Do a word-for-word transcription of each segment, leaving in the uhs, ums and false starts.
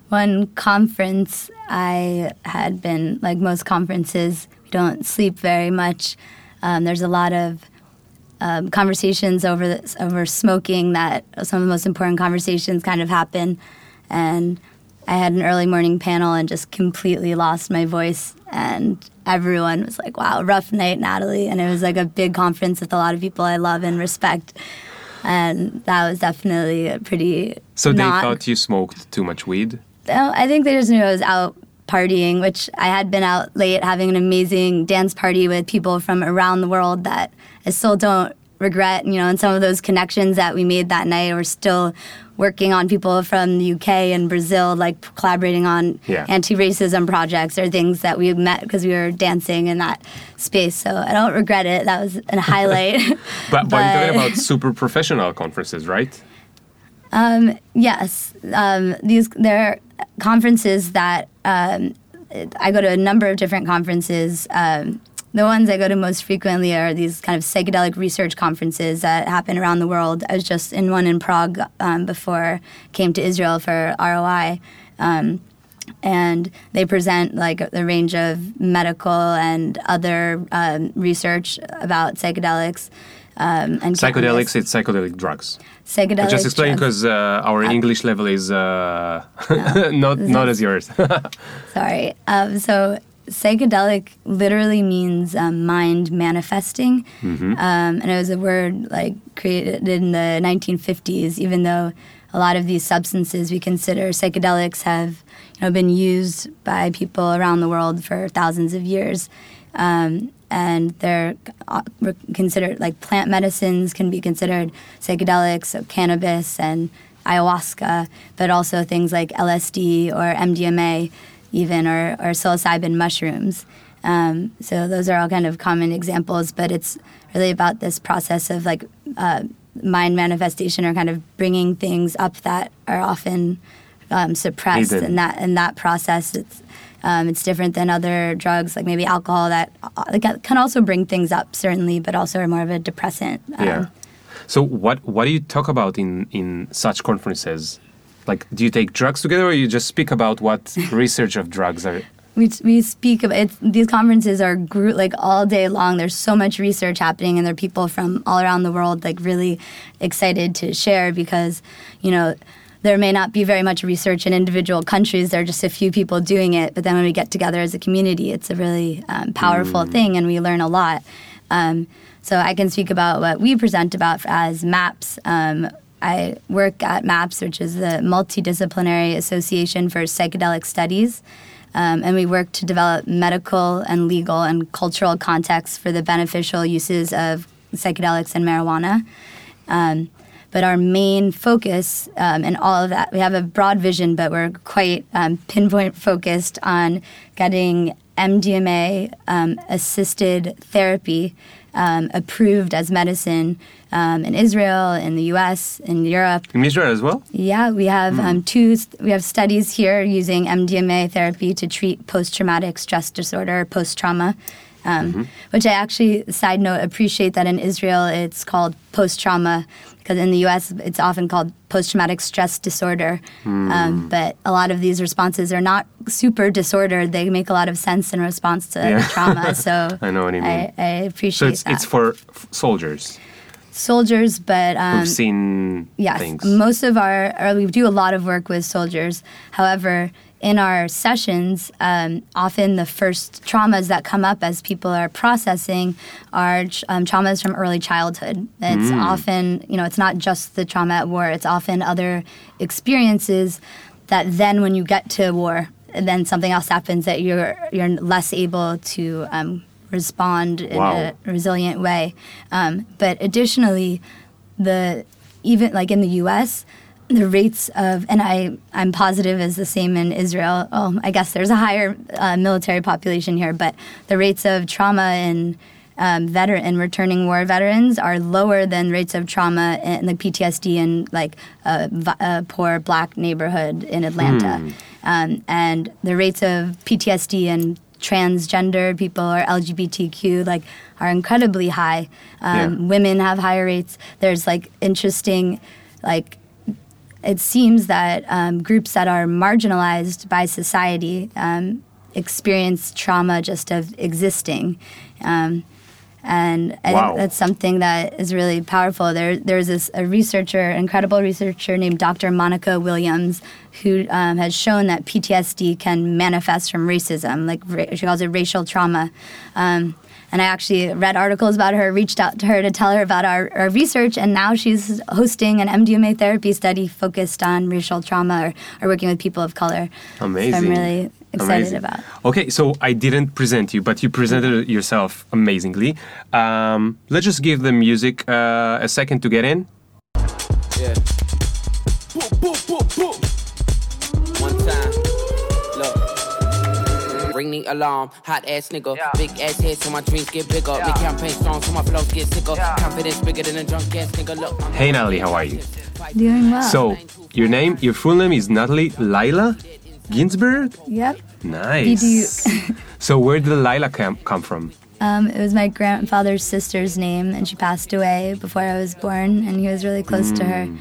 one conference I had been, like most conferences, we don't sleep very much. Um, there's a lot of um, conversations over the, over smoking that some of the most important conversations kind of happen. And I had an early morning panel and just completely lost my voice. And everyone was like, wow, rough night, Natalie. And it was like a big conference with a lot of people I love and respect. And that was definitely a pretty So they not, thought you smoked too much weed? I think they just knew I was out partying, which I had been out late having an amazing dance party with people from around the world that I still don't regret. You know, and some of those connections that we made that night, we're still working on people from the U K and Brazil, like collaborating on yeah. anti-racism projects or things that we met because we were dancing in that space. So I don't regret it. That was a highlight. but, but, but you're talking about super professional conferences, right? Um, yes. Um, these there are conferences that um, I go to a number of different conferences. Um, the ones I go to most frequently are these kind of psychedelic research conferences that happen around the world. I was just in one in Prague um, before I came to Israel for R O I. Um, and they present like a range of medical and other um, research about psychedelics. Um, and psychedelics, it's psychedelic drugs. Psychedelic I just explain because uh, our uh, English level is uh, no, not not as yours. Sorry. Um, so psychedelic literally means um, mind manifesting, mm-hmm. um, and it was a word like created in the nineteen fifties. Even though a lot of these substances we consider psychedelics have you know been used by people around the world for thousands of years. Um, and they're considered, like plant medicines can be considered psychedelics, so cannabis and ayahuasca, but also things like L S D or M D M A even, or, or psilocybin mushrooms. Um, so those are all kind of common examples, but it's really about this process of like uh, mind manifestation or kind of bringing things up that are often um, suppressed. Hidden. And that, in that process, it's Um, it's different than other drugs, like maybe alcohol, that uh, can also bring things up, certainly, but also are more of a depressant. Um, yeah. So what what do you talk about in, in such conferences? Like, do you take drugs together, or you just speak about what research of drugs are? We we speak about it. These conferences are group, like all day long. There's so much research happening, and there are people from all around the world like really excited to share because, you know, there may not be very much research in individual countries. There are just a few people doing it. But then when we get together as a community, it's a really um, powerful mm. thing, and we learn a lot. Um, so I can speak about what we present about as MAPS. Um, I work at MAPS, which is the Multidisciplinary Association for Psychedelic Studies. Um, and we work to develop medical and legal and cultural contexts for the beneficial uses of psychedelics and marijuana. Um, But our main focus um, in all of that, we have a broad vision, but we're quite um, pinpoint focused on getting M D M A um, assisted therapy um, approved as medicine um, in Israel, in the U S, in Europe. In Israel as well? Yeah, we have mm. um, two. We have studies here using M D M A therapy to treat post-traumatic stress disorder, post-trauma. Um, mm-hmm. Which I actually, side note, appreciate that in Israel it's called post-trauma, because in the U S it's often called post-traumatic stress disorder. Mm. Um, but a lot of these responses are not super disordered. They make a lot of sense in response to yeah. trauma. So I know what you mean. I, I appreciate so it's, that. it's for f- soldiers. Soldiers, but um, who've seen yes, things. Most of our, or we do a lot of work with soldiers. However, in our sessions, um, often the first traumas that come up as people are processing are um, traumas from early childhood. It's mm. often, you know, it's not just the trauma at war. It's often other experiences that then when you get to war, then something else happens that you're you're less able to um, respond in wow. a resilient way. Um, but additionally, the even like in the U S, the rates of, and I, I'm positive is the same in Israel. Oh, I guess there's a higher uh, military population here, but the rates of trauma in um, veteran and returning war veterans are lower than rates of trauma in like P T S D in like a, a poor black neighborhood in Atlanta. Hmm. Um, and the rates of P T S D in transgender people or L G B T Q like are incredibly high. Um, yeah. Women have higher rates. There's like interesting like it seems that um, groups that are marginalized by society um, experience trauma just of existing. Um, and I wow. think that's something that is really powerful. There, there's this a researcher, incredible researcher named Doctor Monica Williams, who um, has shown that P T S D can manifest from racism, like ra- she calls it racial trauma. Um, And I actually read articles about her, reached out to her to tell her about our, our research, and now she's hosting an M D M A therapy study focused on racial trauma or, or working with people of color. Amazing. So I'm really excited Amazing. about. Okay, so I didn't present you, but you presented yourself amazingly. Um, let's just give the music uh, a second to get in. Yeah. Boop, boop, boop, boop. One time. Look. Ring the alarm, hot ass nigga. Yeah. Big ass head so my dreams get bigger. Yeah. Big campaign strong so my flows get sicker. Yeah. Confidence bigger than a drunk ass nigga. Look. Hey Natalie, how are you? Doing well. So, your name, your full name is Natalie Laila Ginsberg? Yep. Nice. So where did Laila come, come from? Um, it was my grandfather's sister's name, and she passed away before I was born, and he was really close mm. to her.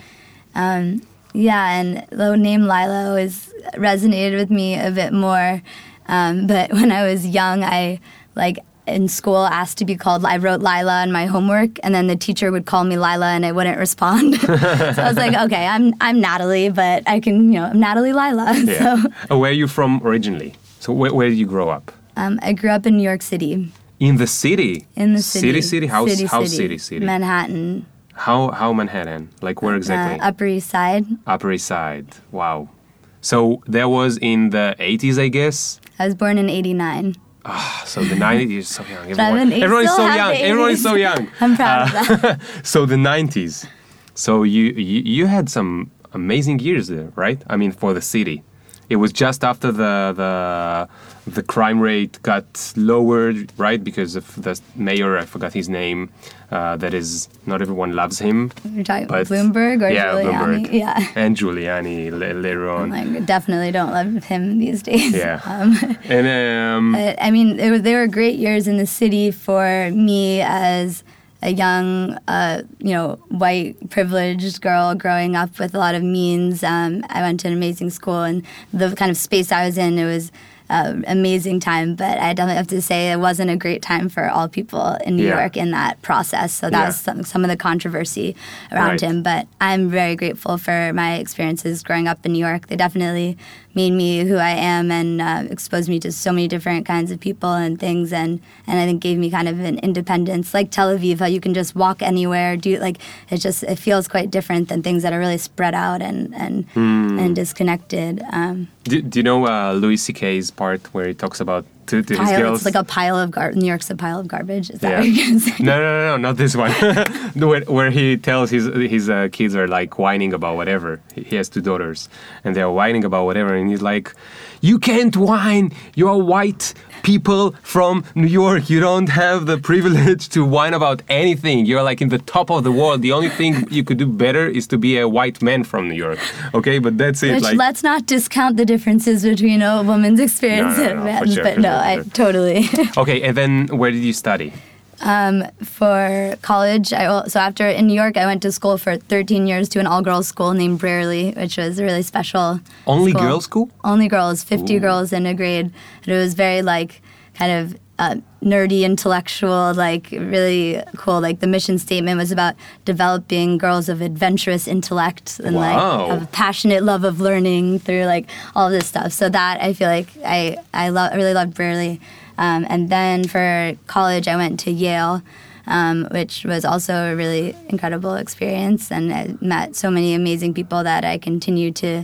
Um, yeah, and the name Laila always resonated with me a bit more. Um, but when I was young, I, like, in school asked to be called, I wrote Lila in my homework, and then the teacher would call me Lila, and I wouldn't respond. So I was like, okay, I'm I'm Natalie, but I can, you know, I'm Natalie Lila. Yeah. So, uh, where are you from originally? So where, where did you grow up? Um, I grew up in New York City. In the city? In the city. City, city? How city, how city. city, city? Manhattan. How how Manhattan? Like where exactly? Uh, Upper East Side. Upper East Side. Wow. So that was in the eighties, I guess? I was born in eighty-nine. Ah, so the nineties, you're so young. Everyone, everyone is so young. Everyone is so young. I'm proud uh, of that. So the nineties. So you, you you had some amazing years there, right? I mean, for the city. It was just after the the the crime rate got lowered, right? Because of the mayor, I forgot his name. Uh, that is, not everyone loves him. You're talking about Bloomberg or yeah, Giuliani? Bloomberg. Yeah, and Giuliani l- later on. I definitely don't love him these days. Yeah, um, and um, but, I mean, it was, they were great years in the city for me as a young, uh, you know, white privileged girl growing up with a lot of means. Um, I went to an amazing school, and the kind of space I was in, it was an amazing time. But I definitely have to say it wasn't a great time for all people in New yeah. York in that process. So that yeah. was some, some of the controversy around right. him. But I'm very grateful for my experiences growing up in New York. They definitely made me who I am and uh, exposed me to so many different kinds of people and things, and, and I think gave me kind of an independence, like Tel Aviv, how you can just walk anywhere, do like it just it feels quite different than things that are really spread out and and, mm. and disconnected. Um, do, do you know uh, Louis C K's part where he talks about to, to his pile, girls? It's like a pile of gar- New York's a pile of garbage. Is that yeah. what you're gonna say? No, no, no, no, not this one. where, where he tells his his uh, kids are like whining about whatever. He has two daughters, and they're whining about whatever, and he's like, "You can't whine. You're white people from New York. You don't have the privilege to whine about anything. You're like in the top of the world. The only thing you could do better is to be a white man from New York. Okay, but that's it. Which, like, let's not discount the differences between a woman's experience No, no, and no, a for man's, sure, but for no, sure, for I sure. totally. Okay, and then where did you study? Um, for college, I al- so after in New York, I went to school for thirteen years to an all-girls school named Brearley, which was a really special. Only school. girls' school? Only girls, fifty Ooh. girls in a grade, and it was very like kind of uh, nerdy, intellectual, like really cool. Like the mission statement was about developing girls of adventurous intellect and Wow. like a passionate love of learning through like all of this stuff. So that I feel like I I lo- really loved Brearley. Um, and then for college, I went to Yale, um, which was also a really incredible experience. And I met so many amazing people that I continue to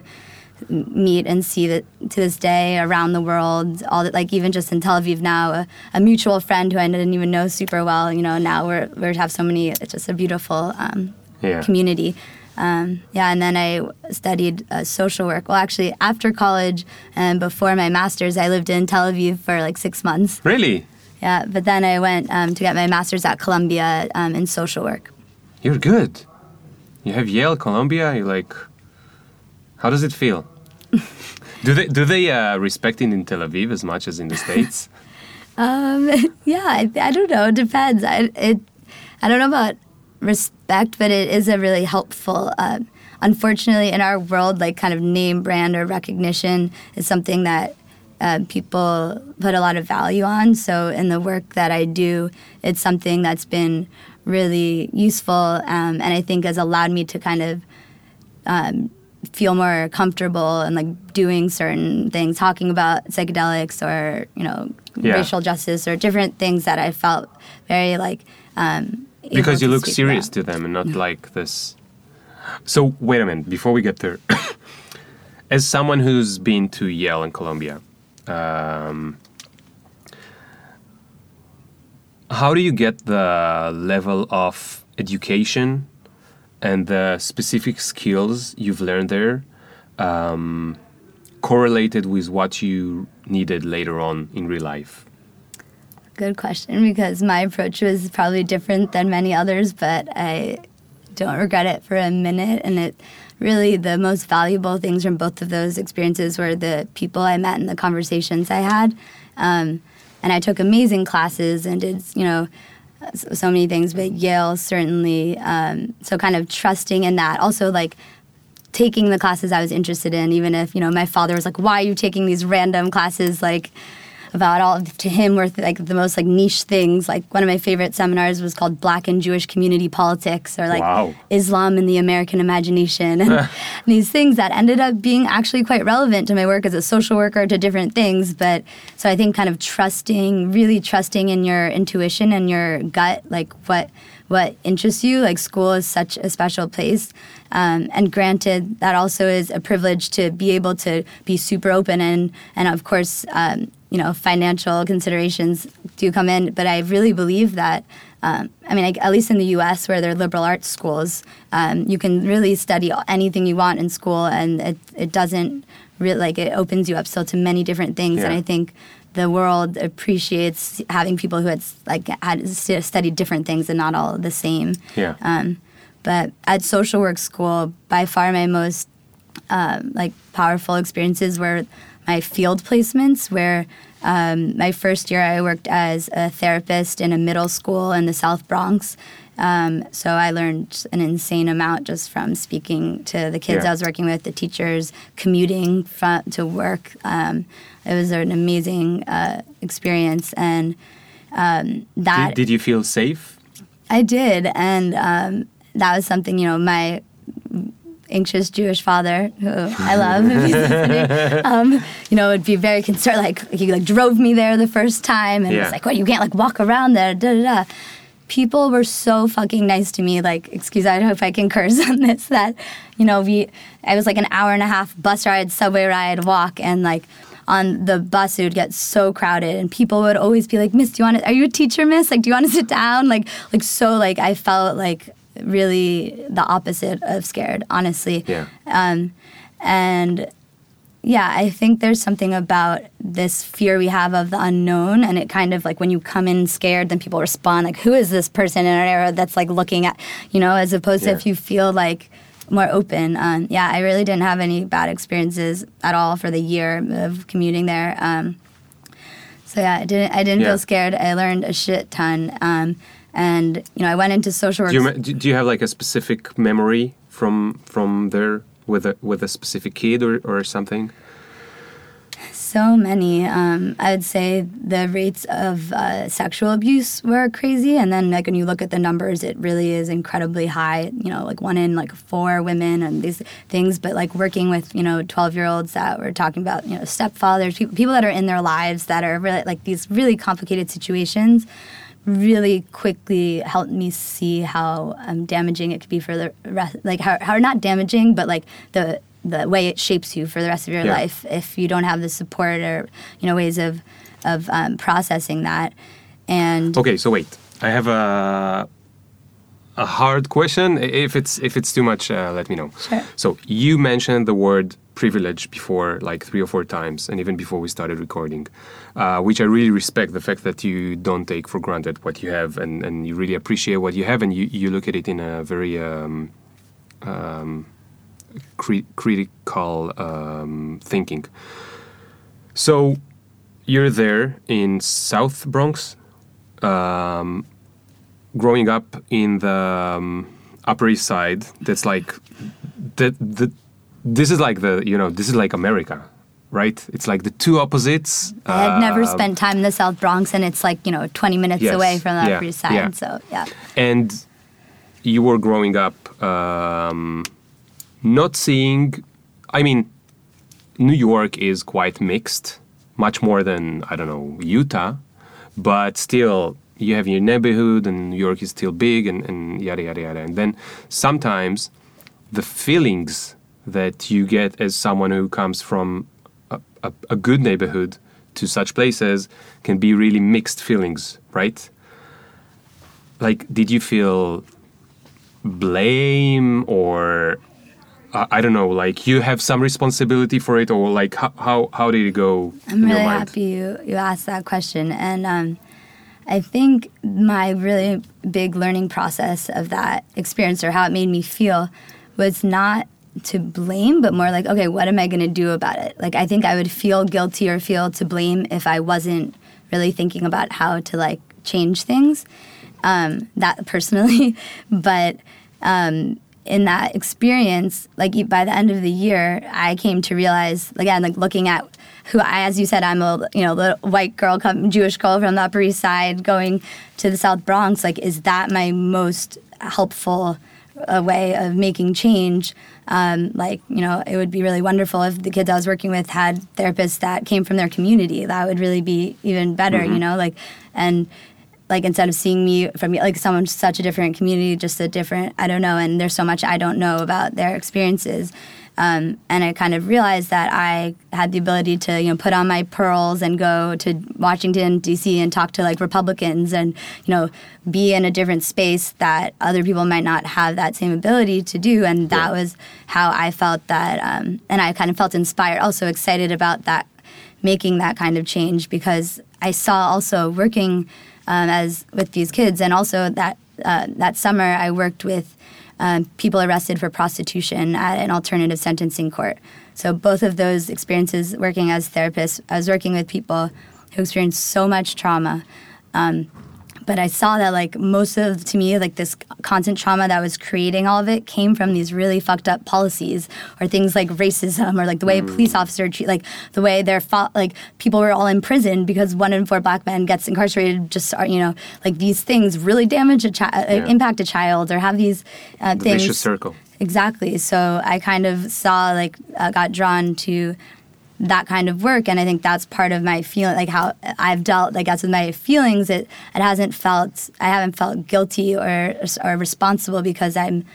meet and see that to this day around the world. All that, like even just in Tel Aviv now, a, a mutual friend who I didn't even know super well. You know, now we're we have so many. It's just a beautiful um, Yeah. community. Um, yeah, and then I studied uh, social work. Well, actually, after college and before my master's, I lived in Tel Aviv for like six months. Really? Yeah, but then I went um, to get my master's at Columbia um, in social work. You're good. You have Yale, Columbia. You're like, how does it feel? do they do they uh, respect it in Tel Aviv as much as in the States? Um, yeah, I, I don't know. It depends. I, it, I don't know about respect, but it is a really helpful uh, unfortunately, in our world, like kind of name brand or recognition is something that uh, people put a lot of value on. So in the work that I do, it's something that's been really useful, um, and I think has allowed me to kind of um, feel more comfortable and like doing certain things, talking about psychedelics or, you know, yeah. racial justice or different things that I felt very like um, because you look serious about. to them and not like this. So wait a minute before we get there. As someone who's been to Yale and Columbia, um, how do you get the level of education and the specific skills you've learned there um, correlated with what you needed later on in real life? Good question, because my approach was probably different than many others, but I don't regret it for a minute. And it really, the most valuable things from both of those experiences were the people I met and the conversations I had. Um, and I took amazing classes and did, you know, so many things, but Yale certainly, um, so kind of trusting in that. Also, like, taking the classes I was interested in, even if, you know, my father was like, why are you taking these random classes, like, about all, to him, were like the most, like, niche things. Like, one of my favorite seminars was called Black and Jewish Community Politics, or, like, wow. Islam and the American Imagination, and, and these things that ended up being actually quite relevant to my work as a social worker, to different things. But, so I think kind of trusting, really trusting in your intuition and your gut, like, what what interests you. Like, school is such a special place. Um, and granted, that also is a privilege to be able to be super open, and, and of course, um, you know, financial considerations do come in. But I really believe that, um, I mean, like, at least in the U S, where they're liberal arts schools, um, you can really study anything you want in school, and it, it doesn't really, like, it opens you up still to many different things. Yeah. And I think the world appreciates having people who had, like, had studied different things and not all the same. Yeah. Um, but at social work school, by far my most um, like powerful experiences were my field placements, where um, my first year I worked as a therapist in a middle school in the South Bronx. Um, so I learned an insane amount just from speaking to the kids yeah. I was working with, the teachers, commuting from, to work. Um, it was an amazing uh, experience, and um, that Did, did you feel safe? I did, and um, that was something, you know, my anxious Jewish father, who I love, if he's listening, um, you know, would be very concerned. Like, he like drove me there the first time, and yeah. was like, "What? You can't like walk around there." Da da da. People were so fucking nice to me. Like, excuse, I hope I can curse on this. That, you know, we, I was like an hour and a half bus ride, subway ride, walk, and like on the bus it would get so crowded, and people would always be like, "Miss, do you want to? Are you a teacher, Miss? Like, do you want to sit down?" Like, like so, like I felt like really the opposite of scared, honestly. Yeah. Um, and yeah, I think there's something about this fear we have of the unknown, and it kind of like when you come in scared, then people respond like, who is this person in our era that's like looking at, you know, as opposed yeah. to if you feel like more open. Um, yeah, I really didn't have any bad experiences at all for the year of commuting there. Um, so yeah, I didn't, I didn't yeah. feel scared. I learned a shit ton. Um, And, you know, I went into social work. Do you, do you have like a specific memory from from there with a with a specific kid or, or something? So many. Um, I would say the rates of uh, sexual abuse were crazy. And then, like, when you look at the numbers, it really is incredibly high. You know, like one in like four women and these things. But like working with, you know, twelve-year-olds that were talking about, you know, stepfathers, people, people that are in their lives that are really like these really complicated situations, really quickly helped me see how um, damaging it could be for the rest, like how, how not damaging, but like the the way it shapes you for the rest of your yeah. life if you don't have the support or, you know, ways of of um, processing that. And okay, so wait, I have a a hard question. If it's if it's too much, uh, let me know. Sure. So you mentioned the word privilege before, like three or four times, and even before we started recording, uh, which I really respect, the fact that you don't take for granted what you have, and, and you really appreciate what you have, and you, you look at it in a very um, um, cri- critical um, thinking. So you're there in South Bronx, um, growing up in the um, Upper East Side. That's like the the. This is like the you know this is like America, right? It's like the two opposites. I had never uh, spent time in the South Bronx, and it's like, you know, twenty minutes Yes, away from the yeah, Upper East Side. yeah. So, yeah. And you were growing up um, not seeing. I mean, New York is quite mixed, much more than I don't know Utah, but still. You have your neighborhood, and New York is still big, and, and yada, yada, yada. And then sometimes the feelings that you get as someone who comes from a, a, a good neighborhood to such places can be really mixed feelings, right? Like, did you feel blame or, uh, I don't know, like you have some responsibility for it, or like how, how, how did it go I'm in really your mind? happy you, you asked that question. And um, I think my really big learning process of that experience, or how it made me feel, was not to blame, but more like, okay, what am I going to do about it? Like, I think I would feel guilty or feel to blame if I wasn't really thinking about how to, like, change things, um, that personally. But um, in that experience, like, by the end of the year, I came to realize, again, like, looking at who I, as you said, I'm a, you know, little white girl, Jewish girl from the Upper East Side going to the South Bronx. Like, is that my most helpful uh, way of making change? Um, like, you know, it would be really wonderful if the kids I was working with had therapists that came from their community. That would really be even better, mm-hmm. you know, like, and like, instead of seeing me from, like, someone such a different community, just a different, I don't know, and there's so much I don't know about their experiences. Um, and I kind of realized that I had the ability to, you know, put on my pearls and go to Washington, D C and talk to, like, Republicans and, you know, be in a different space that other people might not have that same ability to do. And that yeah. was how I felt that, um, and I kind of felt inspired, also excited about that, making that kind of change, because I saw also working um, as with these kids, and also that uh, that summer I worked with Um, people arrested for prostitution at an alternative sentencing court. So both of those experiences, working as therapists, I was working with people who experienced so much trauma. Um, but I saw that, like, most of, to me, like, this constant trauma that was creating all of it came from these really fucked up policies, or things like racism, or like the way mm. a police officer treat, like the way they're fought, like people were all in prison because one in four black men gets incarcerated. Just, you know, like, these things really damage a child, yeah. like, impact a child, or have these uh, the things. Vicious circle. Exactly. So I kind of saw, like, uh, got drawn to that kind of work, and I think that's part of my feeling, like how I've dealt, like, as with my feelings, it it hasn't felt, I haven't felt guilty or or responsible, because I'm,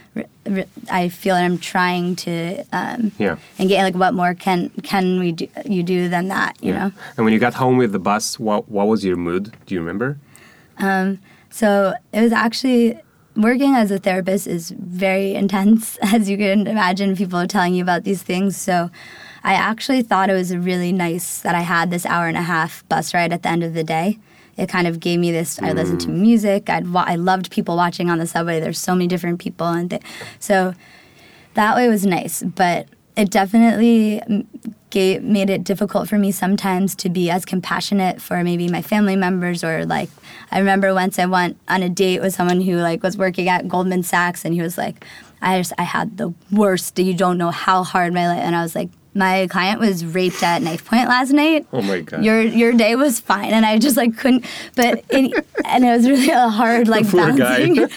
I feel that I'm trying to, um, yeah, and get, like, what more can can we do, you do than that, you yeah. know? And when you got home with the bus, what what was your mood? Do you remember? Um, so it was actually, working as a therapist is very intense, as you can imagine, people are telling you about these things, so I actually thought it was really nice that I had this hour and a half bus ride at the end of the day. It kind of gave me this, I listened to music, I'd wa- I loved people watching on the subway, there's so many different people, and th- so that way was nice, but it definitely gave, made it difficult for me sometimes to be as compassionate for maybe my family members, or, like, I remember once I went on a date with someone who, like, was working at Goldman Sachs, and he was like, I just, I had the worst, you don't know how hard my life, and I was like, my client was raped at knife point last night. Oh my God. Your your day was fine, and I just, like, couldn't. But it, and it was really a hard, like, Poor balancing. guy.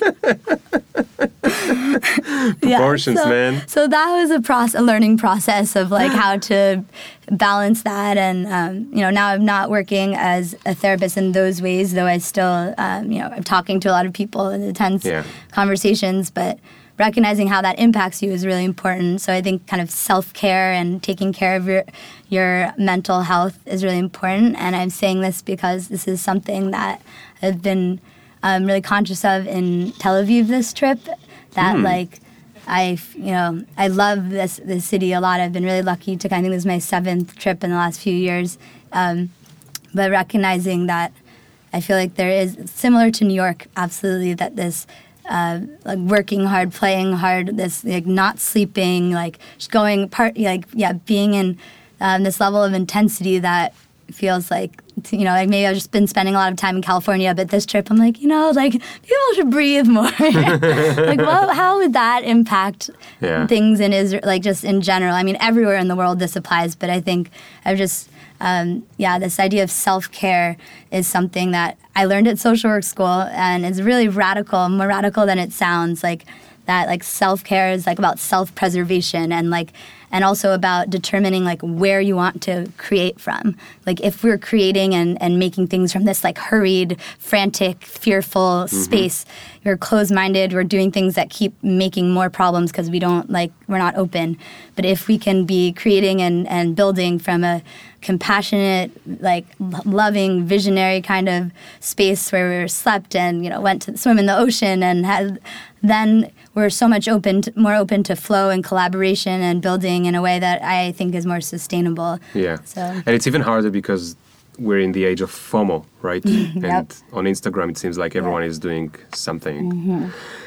Proportions, yeah, so, man. So that was a process, a learning process of, like, how to balance that, and um, you know, now I'm not working as a therapist in those ways, though I still, um, you know, I'm talking to a lot of people in intense yeah. conversations, but recognizing how that impacts you is really important. So I think kind of self-care and taking care of your your mental health is really important. And I'm saying this because this is something that I've been um, really conscious of in Tel Aviv this trip. That mm. like I, you know, I love this this city a lot. I've been really lucky to. I think this is my seventh trip in the last few years. Um, but recognizing that, I feel like there is, similar to New York, absolutely, that this. Uh, like working hard, playing hard, this, like, not sleeping, like just going part, like yeah, being in um, this level of intensity that feels like, you know, like maybe I've just been spending a lot of time in California, but this trip I'm like, you know, like people should breathe more. Like, well, how would that impact Yeah. things in Israel, like just in general? I mean, everywhere in the world this applies, but I think I've just, um, yeah, this idea of self-care is something that I learned at social work school, and it's really radical, more radical than it sounds. Like that, like self-care is like about self-preservation, and like, and also about determining like where you want to create from. Like if we're creating and, and making things from this like hurried, frantic, fearful mm-hmm. space, we're closed-minded, we're doing things that keep making more problems because we don't like, we're not open. But if we can be creating and, and building from a compassionate, like loving, visionary kind of space where we slept and, you know, went to swim in the ocean and had, then we're so much open, to, more open to flow and collaboration and building in a way that I think is more sustainable. Yeah. So. And it's even harder because we're in the age of FOMO, right? Yep. And on Instagram, it seems like everyone yep. is doing something. Mm-hmm.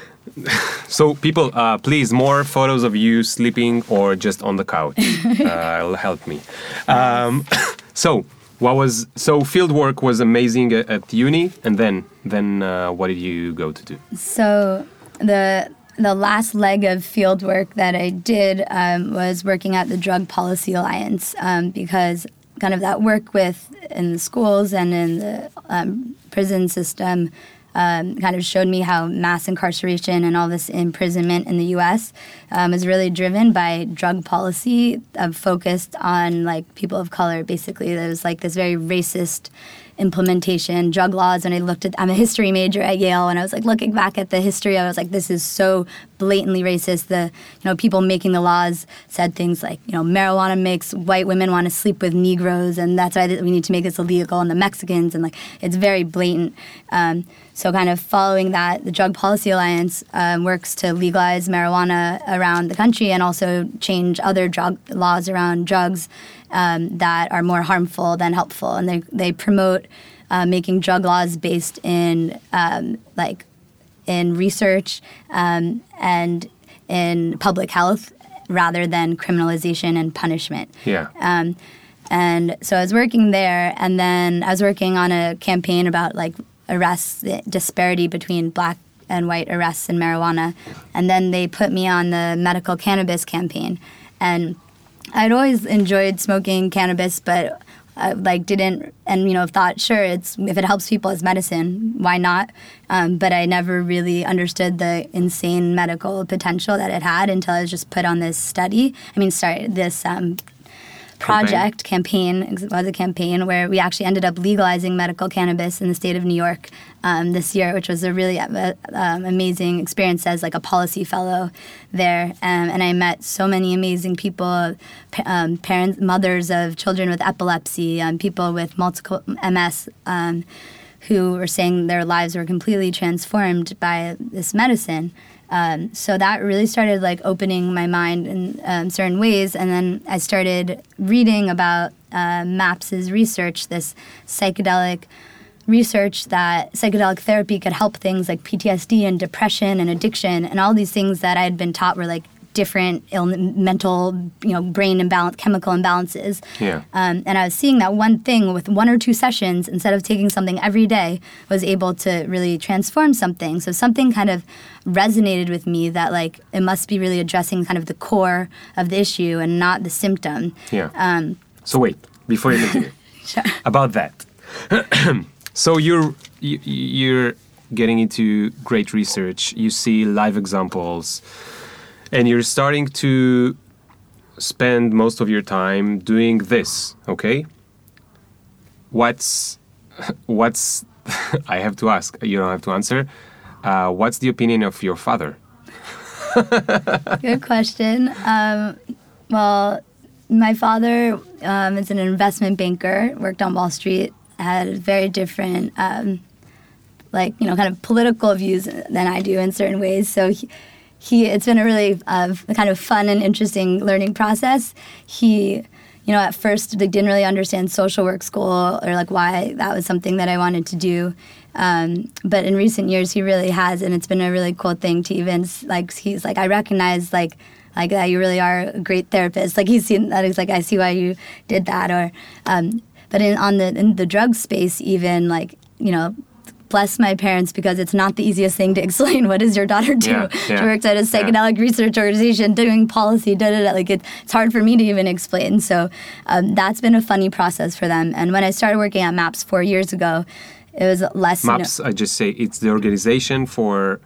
So people, uh, please, more photos of you sleeping or just on the couch. uh, it'll help me. Um, so what was so field work was amazing at, at uni, and then then uh, what did you go to do? So the the last leg of field work that I did um, was working at the Drug Policy Alliance um, because kind of that work with in the schools and in the um, prison system. Um, kind of showed me how mass incarceration and all this imprisonment in the U S um, is really driven by drug policy uh, focused on like people of color. Basically, there was like this very racist implementation, drug laws. And I looked at, I'm a history major at Yale, and I was like looking back at the history, I was like, this is so blatantly racist. The, you know, people making the laws said things like, you know, marijuana makes white women want to sleep with Negroes, and that's why we need to make this illegal, and the Mexicans, and like, it's very blatant. Um, so kind of following that, the Drug Policy Alliance um, works to legalize marijuana around the country and also change other drug laws around drugs um, that are more harmful than helpful. And they they promote uh, making drug laws based in um, like in research um, and in public health rather than criminalization and punishment. Yeah. Um, and so I was working there, and then I was working on a campaign about like arrests, the disparity between black and white arrests in marijuana. And then they put me on the medical cannabis campaign. And I'd always enjoyed smoking cannabis, but I, like didn't, and you know, thought, sure, it's if it helps people as medicine, why not? Um, but I never really understood the insane medical potential that it had until I was just put on this study. I mean, sorry, this um, project, campaign, it was a campaign where we actually ended up legalizing medical cannabis in the state of New York um, this year, which was a really uh, um, amazing experience as like a policy fellow there. Um, and I met so many amazing people, um, parents, mothers of children with epilepsy, um, people with multiple M S, um, who were saying their lives were completely transformed by this medicine. Um, so that really started like opening my mind in um, certain ways, and then I started reading about uh, MAPS's research, this psychedelic research that psychedelic therapy could help things like P T S D and depression and addiction and all these things that I had been taught were like different Ill- mental, you know, brain imbalance, chemical imbalances. Yeah. Um, and I was seeing that one thing with one or two sessions, instead of taking something every day, was able to really transform something. So something kind of resonated with me that like it must be really addressing kind of the core of the issue and not the symptom. Yeah. Um, so wait, before you continue, sure. about that. So you're you, you're getting into great research. You see live examples. And you're starting to spend most of your time doing this, okay? What's, what's, I have to ask, you don't have to answer. Uh, what's the opinion of your father? Good question. Um, well, my father um, is an investment banker, worked on Wall Street, had very different, um, like, you know, kind of political views than I do in certain ways. So he, He, it's been a really uh, kind of fun and interesting learning process. He, you know, at first like, didn't really understand social work school or like why that was something that I wanted to do. Um, but in recent years, he really has, and it's been a really cool thing to even like. He's like, I recognize like like that you really are a great therapist. Like he's seen that. He's like, I see why you did that. Or, um, but in on the in the drug space, even like you know. Bless my parents because it's not the easiest thing to explain. What does your daughter do? Yeah, yeah, she works at a psychedelic yeah. research organization doing policy, da da da. Like it, it's hard for me to even explain. So um, that's been a funny process for them. And when I started working at MAPS four years ago, it was less. MAPS, you know, I just say it's the organization for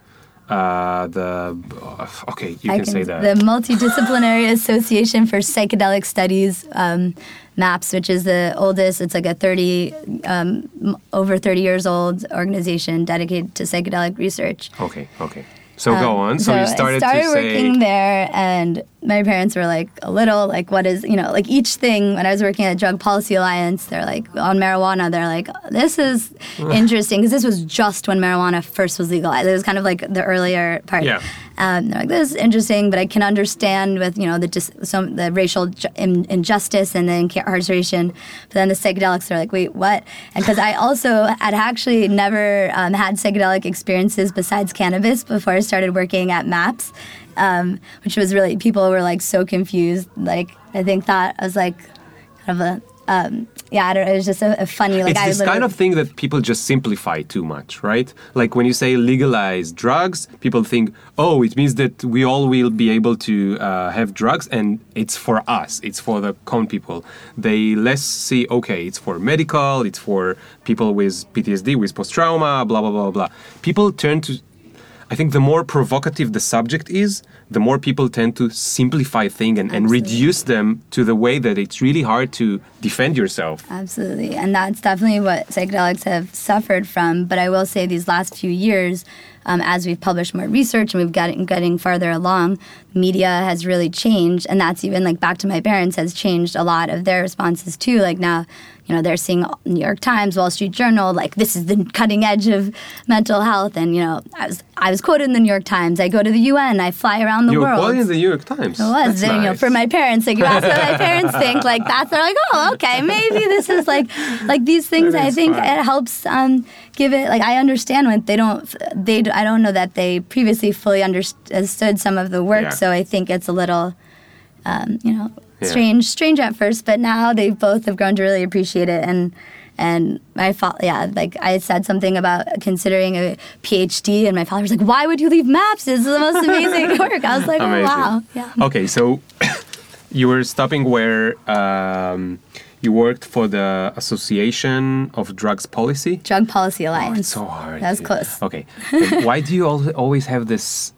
uh, the. Okay, you can, can say that. The Multidisciplinary Association for Psychedelic Studies. Um, MAPS, which is the oldest, it's like a thirty, um, over thirty years old organization dedicated to psychedelic research. Okay, okay. So um, go on. So, so you started, I started to working say... there, and my parents were like a little like, what is, you know, like each thing, when I was working at Drug Policy Alliance, they're like, on marijuana, they're like, this is interesting, because this was just when marijuana first was legalized. It was kind of like the earlier part. Yeah. Um, they're like, this is interesting, but I can understand with, you know, the dis- some the racial ju- in- injustice and the incarceration. But then the psychedelics are like, wait, what? And because I also had actually never um, had psychedelic experiences besides cannabis before I started working at MAPS, um, which was really, people were like so confused. Like, I think that I was like kind of a, um, yeah, I don't know, it was just a, a funny, like, it's I this kind of thing that people just simplify too much, right? Like when you say legalize drugs, people think, oh, it means that we all will be able to uh, have drugs and it's for us, it's for the common people. They less see, okay, it's for medical, it's for people with P T S D, with post-trauma, blah, blah, blah, blah. People turn to, I think the more provocative the subject is, the more people tend to simplify things and, and reduce them to the way that it's really hard to defend yourself. Absolutely. And that's definitely what psychedelics have suffered from. But I will say these last few years, um, as we've published more research and we've gotten getting farther along, media has really changed. And that's even like back to my parents has changed a lot of their responses too. Like now, you know, they're seeing New York Times, Wall Street Journal, like this is the cutting edge of mental health. And, you know, I was I was quoted in the New York Times. I go to the U N. I fly around the you world. You were quoted in the New York Times. It was. Then, nice. You know, for my parents, like you ask what my parents think, like that's, they're like, oh, okay, maybe this is like, like these things, I think fun. It helps um, give it, like I understand when they don't, they, I don't know that they previously fully understood some of the work. Yeah. So I think it's a little, um, you know, yeah. strange, strange at first, but now they both have grown to really appreciate it. And, And my father, yeah, like I said something about considering a PhD, and my father was like, "Why would you leave MAPS? This is the most amazing work." I was like, "Oh wow, yeah." Okay, so you were stopping where um, you worked for the Association of Drugs Policy. Drug Policy Alliance. Oh, it's so hard. That was close. Okay, and why do you always have this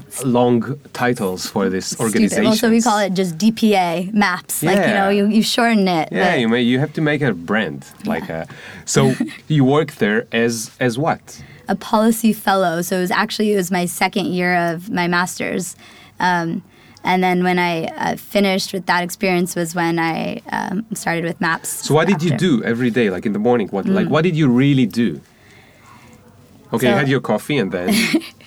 long titles for this organization? Well, so we call it just D P A, MAPS. Yeah. Like, you know, you, you shorten it. Yeah, you may, you have to make a brand. Like a, so you work there as as what? A policy fellow. So it was actually, it was my second year of my master's. Um, and then when I uh, finished with that experience was when I um, started with MAPS. So what did after. you do every day, like in the morning? What mm. like what did you really do? Okay, so, you had your coffee and then...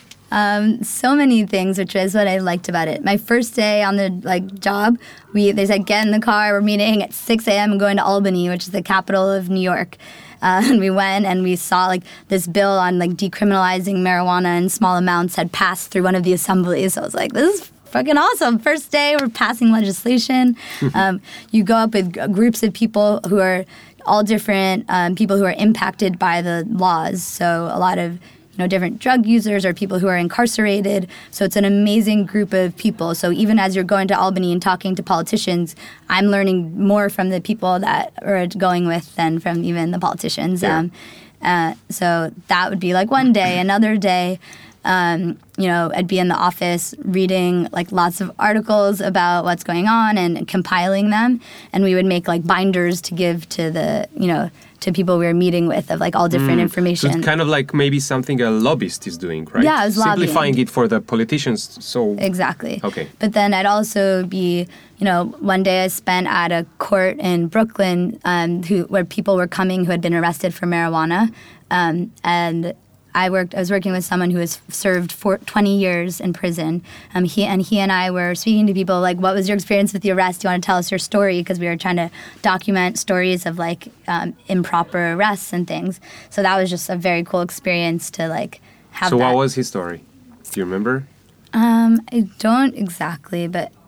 Um, so many things, which is what I liked about it. My first day on the like job, we they said, get in the car, we're meeting at six a.m. and going to Albany, which is the capital of New York. Uh, and we went and we saw like this bill on like decriminalizing marijuana in small amounts had passed through one of the assemblies. So I was like, this is fucking awesome. First day, we're passing legislation. um, you go up with g- groups of people who are all different, um, people who are impacted by the laws. So a lot of you know, different drug users or people who are incarcerated. So it's an amazing group of people. So even as you're going to Albany and talking to politicians, I'm learning more from the people that are going with than from even the politicians. Yeah. Um, uh, so that would be like one day. Another day, um, you know, I'd be in the office reading like lots of articles about what's going on and compiling them. And we would make like binders to give to the, you know, to people we were meeting with of like all different mm. information. So it's kind of like maybe something a lobbyist is doing, right? Yeah, I was simplifying lobbying. it for the politicians. So exactly. Okay. But then I'd also be, you know, one day I spent at a court in Brooklyn, um, who where people were coming who had been arrested for marijuana, um, and I worked. I was working with someone who has served for twenty years in prison. Um, he and he and I were speaking to people like, "What was your experience with the arrest? Do you want to tell us your story?" Because we were trying to document stories of like um, improper arrests and things. So that was just a very cool experience to like have. So that. What was his story? Do you remember? Um, I don't exactly, but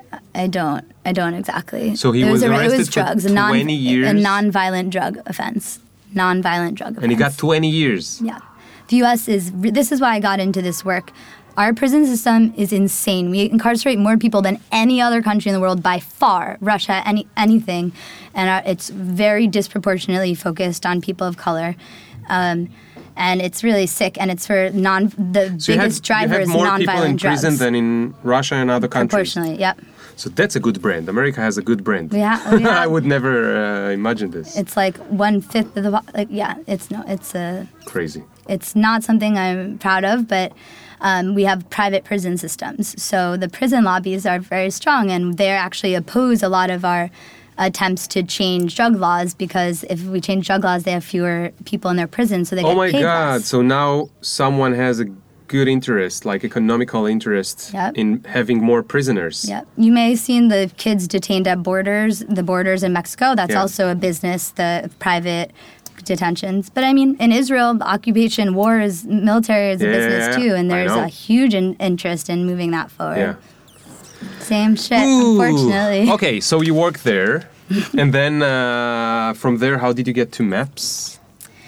I don't. I don't exactly. So he it was was, a, arrested it was for drugs, a non, twenty years? A non-violent drug offense. Non-violent drug offense. And he got twenty years. Yeah. The U S is, this is why I got into this work. Our prison system is insane. We incarcerate more people than any other country in the world by far, Russia, any anything. And our, it's very disproportionately focused on people of color. Um, and it's really sick, and it's for non the So biggest you have, driver you is have more nonviolent people in drugs. prison than in Russia and other countries. Proportionally, yep. So that's a good brand. America has a good brand. We ha- we I have- would never uh, imagine this. It's like one fifth of the po- like yeah. It's no. It's a. Crazy. It's not something I'm proud of, but um, we have private prison systems. So the prison lobbies are very strong, and they actually oppose a lot of our attempts to change drug laws, because if we change drug laws, they have fewer people in their prison, so they Oh get my paid God. less. So now someone has a good interest, like economical interest, Yep. in having more prisoners. Yep. You may have seen the kids detained at borders, the borders in Mexico. That's Yeah. also a business, the private detentions. But I mean, in Israel, occupation, war is, military is a Yeah, business yeah, too, and I there's know. a huge in- interest in moving that forward. Yeah. Same shit, Ooh. unfortunately. Okay, so you work there, and then uh, from there, how did you get to MAPS?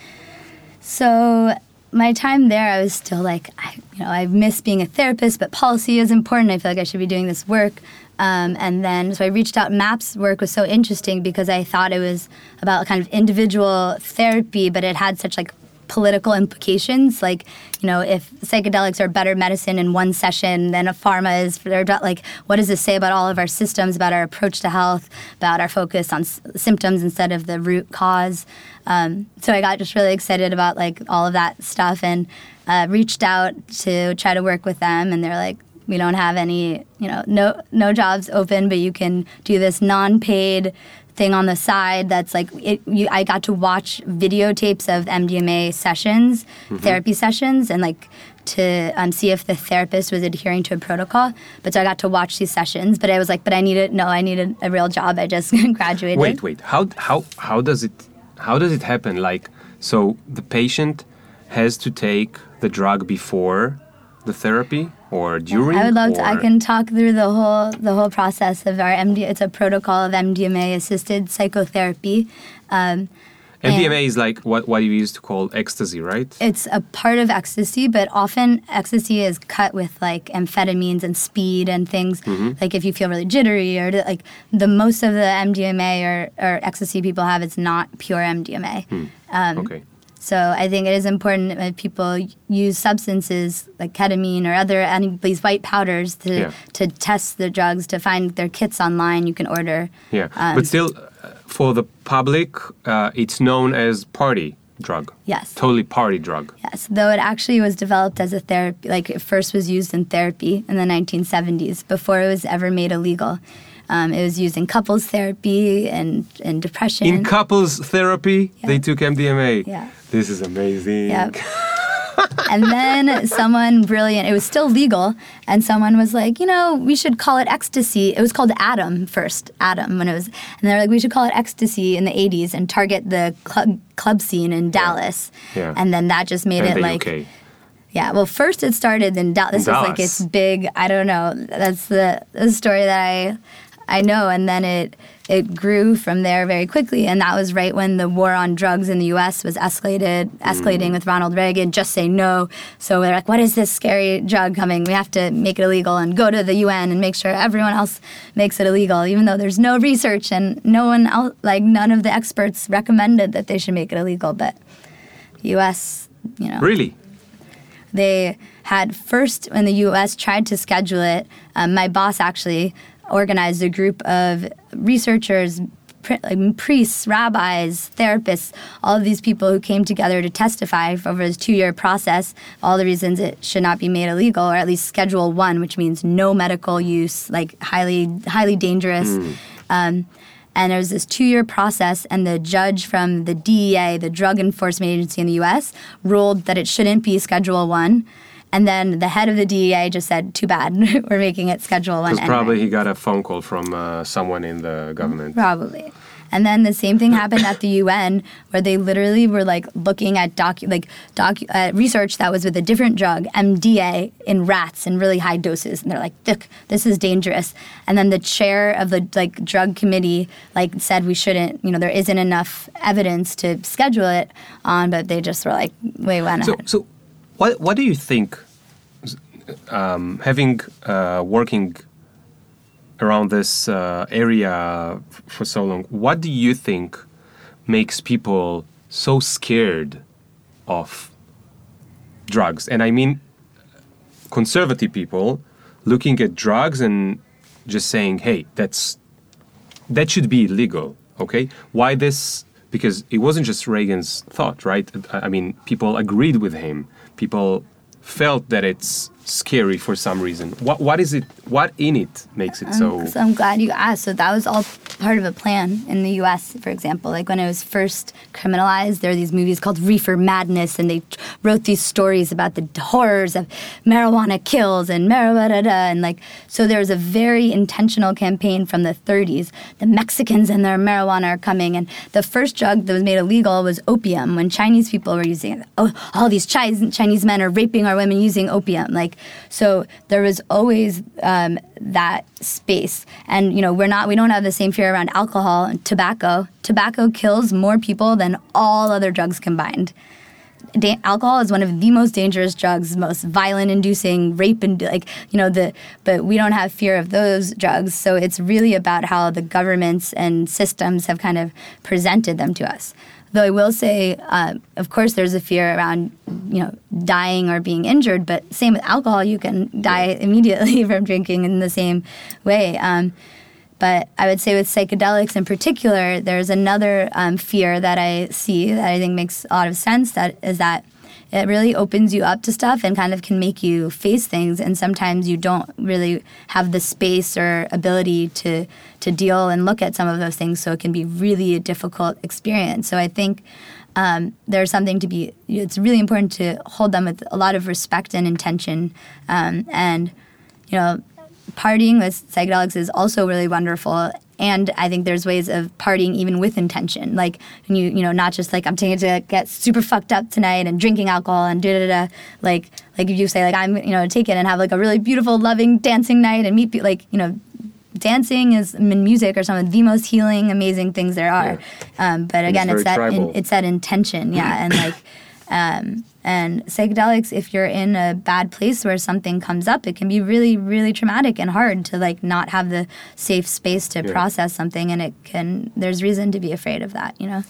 So my time there, I was still like, I, you know, I miss being a therapist, but policy is important. I feel like I should be doing this work. Um, and then, so I reached out. MAPS work was so interesting because I thought it was about kind of individual therapy, but it had such like political implications. Like, you know, if psychedelics are better medicine in one session than a pharma is, for like, what does this say about all of our systems, about our approach to health, about our focus on s- symptoms instead of the root cause? Um, so I got just really excited about like all of that stuff, and uh, reached out to try to work with them, and they're like, we don't have any, you know, no no jobs open, but you can do this non-paid thing on the side that's like, it, you, I got to watch videotapes of M D M A sessions, Mm-hmm. therapy sessions, and like to um, see if the therapist was adhering to a protocol. But so I got to watch these sessions, but I was like, but I needed, no, I needed a real job. I just graduated. Wait, wait. How how how does it how does it happen? Like, so the patient has to take the drug before the therapy or during? I would love to. I or- can talk through the whole the whole process of our M D. It's a protocol of M D M A assisted psychotherapy. Um, M D M A and is like what what you used to call ecstasy, right? It's a part of ecstasy, but often ecstasy is cut with like amphetamines and speed and things. Mm-hmm. Like if you feel really jittery, or like the most of the M D M A or, or ecstasy people have, it's not pure M D M A. Um, Okay. So I think it is important that people use substances like ketamine or other any these white powders to Yeah. to test the drugs, to find their kits online. You can order. Yeah, Um, but still, uh, for the public, uh, it's known as party drug. Yes. Totally party drug. Yes, though it actually was developed as a therapy, like it first was used in therapy in the nineteen seventies before it was ever made illegal. Um, it was used in couples therapy and, and depression. In couples therapy, they took M D M A. Yeah. This is amazing. Yep. And then someone brilliant, it was still legal, and someone was like, you know, we should call it ecstasy. It was called Atom first, Atom, when it was, and they're like, we should call it ecstasy in the eighties and target the club, club scene in Dallas. Yeah. And then that just made And it the like, U K. yeah, well, first it started in Dallas. This was like Dallas. its big, I don't know, that's the, the story that I I know, and then it it grew from there very quickly, and that was right when the war on drugs in the U S was escalated, escalating Mm. with Ronald Reagan, just say no. So they're like, what is this scary drug coming? We have to make it illegal and go to the U N and make sure everyone else makes it illegal, even though there's no research and no one else, like none of the experts recommended that they should make it illegal, but the U S, you know. Really? They had first, when the U S tried to schedule it, um, my boss actually organized a group of researchers, pri- like priests, rabbis, therapists, all of these people who came together to testify over this two-year process, all the reasons it should not be made illegal, or at least Schedule One, which means no medical use, like highly, highly dangerous. Um, and there was this two-year process, and the judge from the D E A, the Drug Enforcement Agency in the U S, ruled that it shouldn't be Schedule One. And then the head of the D E A just said, too bad, we're making it Schedule One Because anyway. probably he got a phone call from uh, someone in the government. Probably. And then the same thing happened at the U N, where they literally were like looking at docu- like docu- uh, research that was with a different drug, M D A, in rats in really high doses, and they're like, "Look, this is dangerous." And then the chair of the like drug committee like said we shouldn't, you know, there isn't enough evidence to schedule it on, but they just were like, "We went So, ahead." so what what do you think? Um, having uh, working around this uh, area f- for so long, what do you think makes people so scared of drugs? And I mean conservative people looking at drugs and just saying, hey, that's that should be illegal, okay? Why this? Because it wasn't just Reagan's thought, right? I I mean, people agreed with him. People felt that it's scary for some reason. What what is it? What in it makes it so? Um, so I'm glad you asked. So that was all part of a plan in the U S, for example. Like when it was first criminalized, there were these movies called Reefer Madness, and they wrote these stories about the horrors of marijuana kills and marijuana, and like, so there was a very intentional campaign from the thirties. The Mexicans and their marijuana are coming, and the first drug that was made illegal was opium, when Chinese people were using it. Oh, all these Chinese Chinese men are raping our women using opium. Like, so there was always um, that space. And, you know, we're not, we don't have the same fear around alcohol and tobacco. Tobacco kills more people than all other drugs combined. Da- alcohol is one of the most dangerous drugs, most violent-inducing, rape, and like, you know, the, but we don't have fear of those drugs. So it's really about how the governments and systems have kind of presented them to us. Though I will say, uh, of course, there's a fear around, you know, dying or being injured. But same with alcohol, you can die immediately from drinking in the same way. Um, but I would say with psychedelics in particular, there's another um, fear that I see that I think makes a lot of sense. That is that it really opens you up to stuff and kind of can make you face things. And sometimes you don't really have the space or ability to to deal and look at some of those things. So it can be really a difficult experience. So I think um, there's something to be, it's really important to hold them with a lot of respect and intention. Um, and, you know, partying with psychedelics is also really wonderful. And I think there's ways of partying even with intention. Like, when you, you know, not just like, I'm taking it to get super fucked up tonight and drinking alcohol and da-da-da. Like, like if you say, like, I'm, you know, take it and have like a really beautiful, loving, dancing night and meet people, like, you know, dancing is, in music, are some of the most healing, amazing things there are. Yeah. Um, but again, it's, it's that in, it's that intention, yeah, and like, um, and psychedelics, if you're in a bad place where something comes up, it can be really, really traumatic and hard to like not have the safe space to yeah. process something, and it can. There's reason to be afraid of that, you know.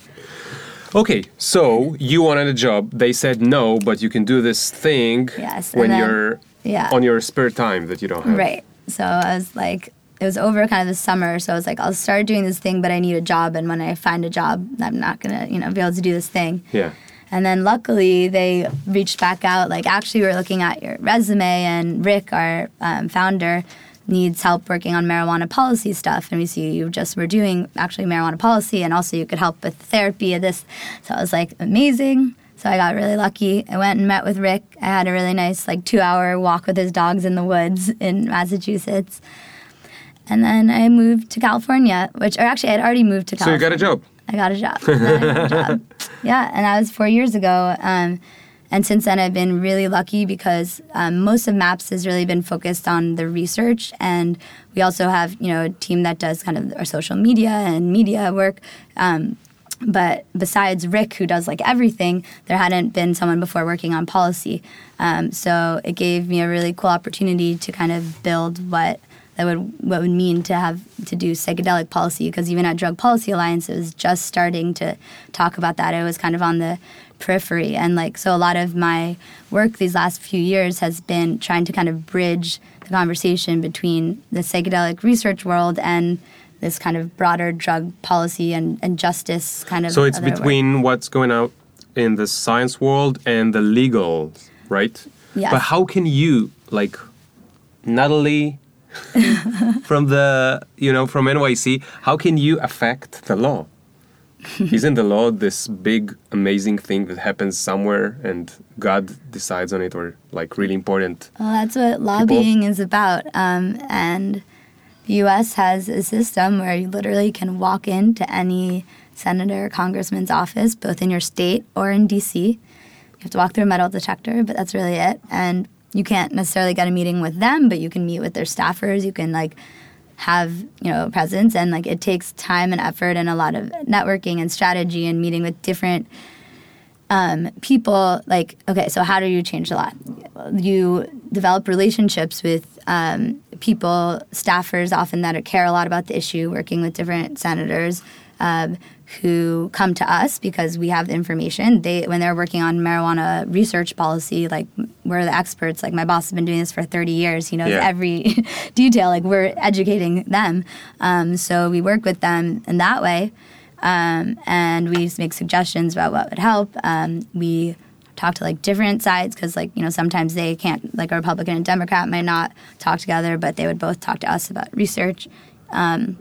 Okay, so you wanted a job. They said no, but you can do this thing yes, when then, you're yeah. on your spare time that you don't have. Right. So I was like, it was over kind of the summer, so I was like, I'll start doing this thing, but I need a job, and when I find a job, I'm not gonna, you know, be able to do this thing. Yeah. And then luckily they reached back out, like, actually we're looking at your resume, and Rick, our um, founder, needs help working on marijuana policy stuff, and we see you just were doing actually marijuana policy, and also you could help with therapy of this. So I was like, amazing. So I got really lucky. I went and met with Rick. I had a really nice like two-hour walk with his dogs in the woods in Massachusetts. And then I moved to California, which, or actually I had already moved to California. So you got a job? I got a job. I got a job. Yeah, and that was four years ago. Um, and since then, I've been really lucky because um, most of MAPS has really been focused on the research, and we also have, you know, a team that does kind of our social media and media work. Um, but besides Rick, who does like everything, there hadn't been someone before working on policy. Um, so it gave me a really cool opportunity to kind of build what that would what would mean to have to do psychedelic policy, because even at Drug Policy Alliance, it was just starting to talk about that. It was kind of on the periphery, and like so, a lot of my work these last few years has been trying to kind of bridge the conversation between the psychedelic research world and this kind of broader drug policy and, and justice kind of. So it's between work. What's going on in the science world and the legal, right? Yeah. But how can you, like, Natalie from the, you know, from N Y C, how can you affect the law? Isn't the law this big, amazing thing that happens somewhere and God decides on it, or like really important? Well, that's what lobbying people? is about. Um, and the U S has a system where you literally can walk into any senator or congressman's office, both in your state or in D C. You have to walk through a metal detector, but that's really it. And you can't necessarily get a meeting with them, but you can meet with their staffers. You can, like, have, you know, presence. And, like, it takes time and effort and a lot of networking and strategy and meeting with different um, people. Like, okay, so how do you change the law? You develop relationships with um, people, staffers often that care a lot about the issue, working with different senators um, who come to us because we have the information. They, when they're working on marijuana research policy, like, we're the experts. Like, my boss has been doing this for thirty years. He knows yeah. every detail. Like, we're educating them. Um, so we work with them in that way. Um, and we make suggestions about what would help. Um, we talk to, like, different sides because, like, you know, sometimes they can't, like, a Republican and Democrat might not talk together, but they would both talk to us about research. Um,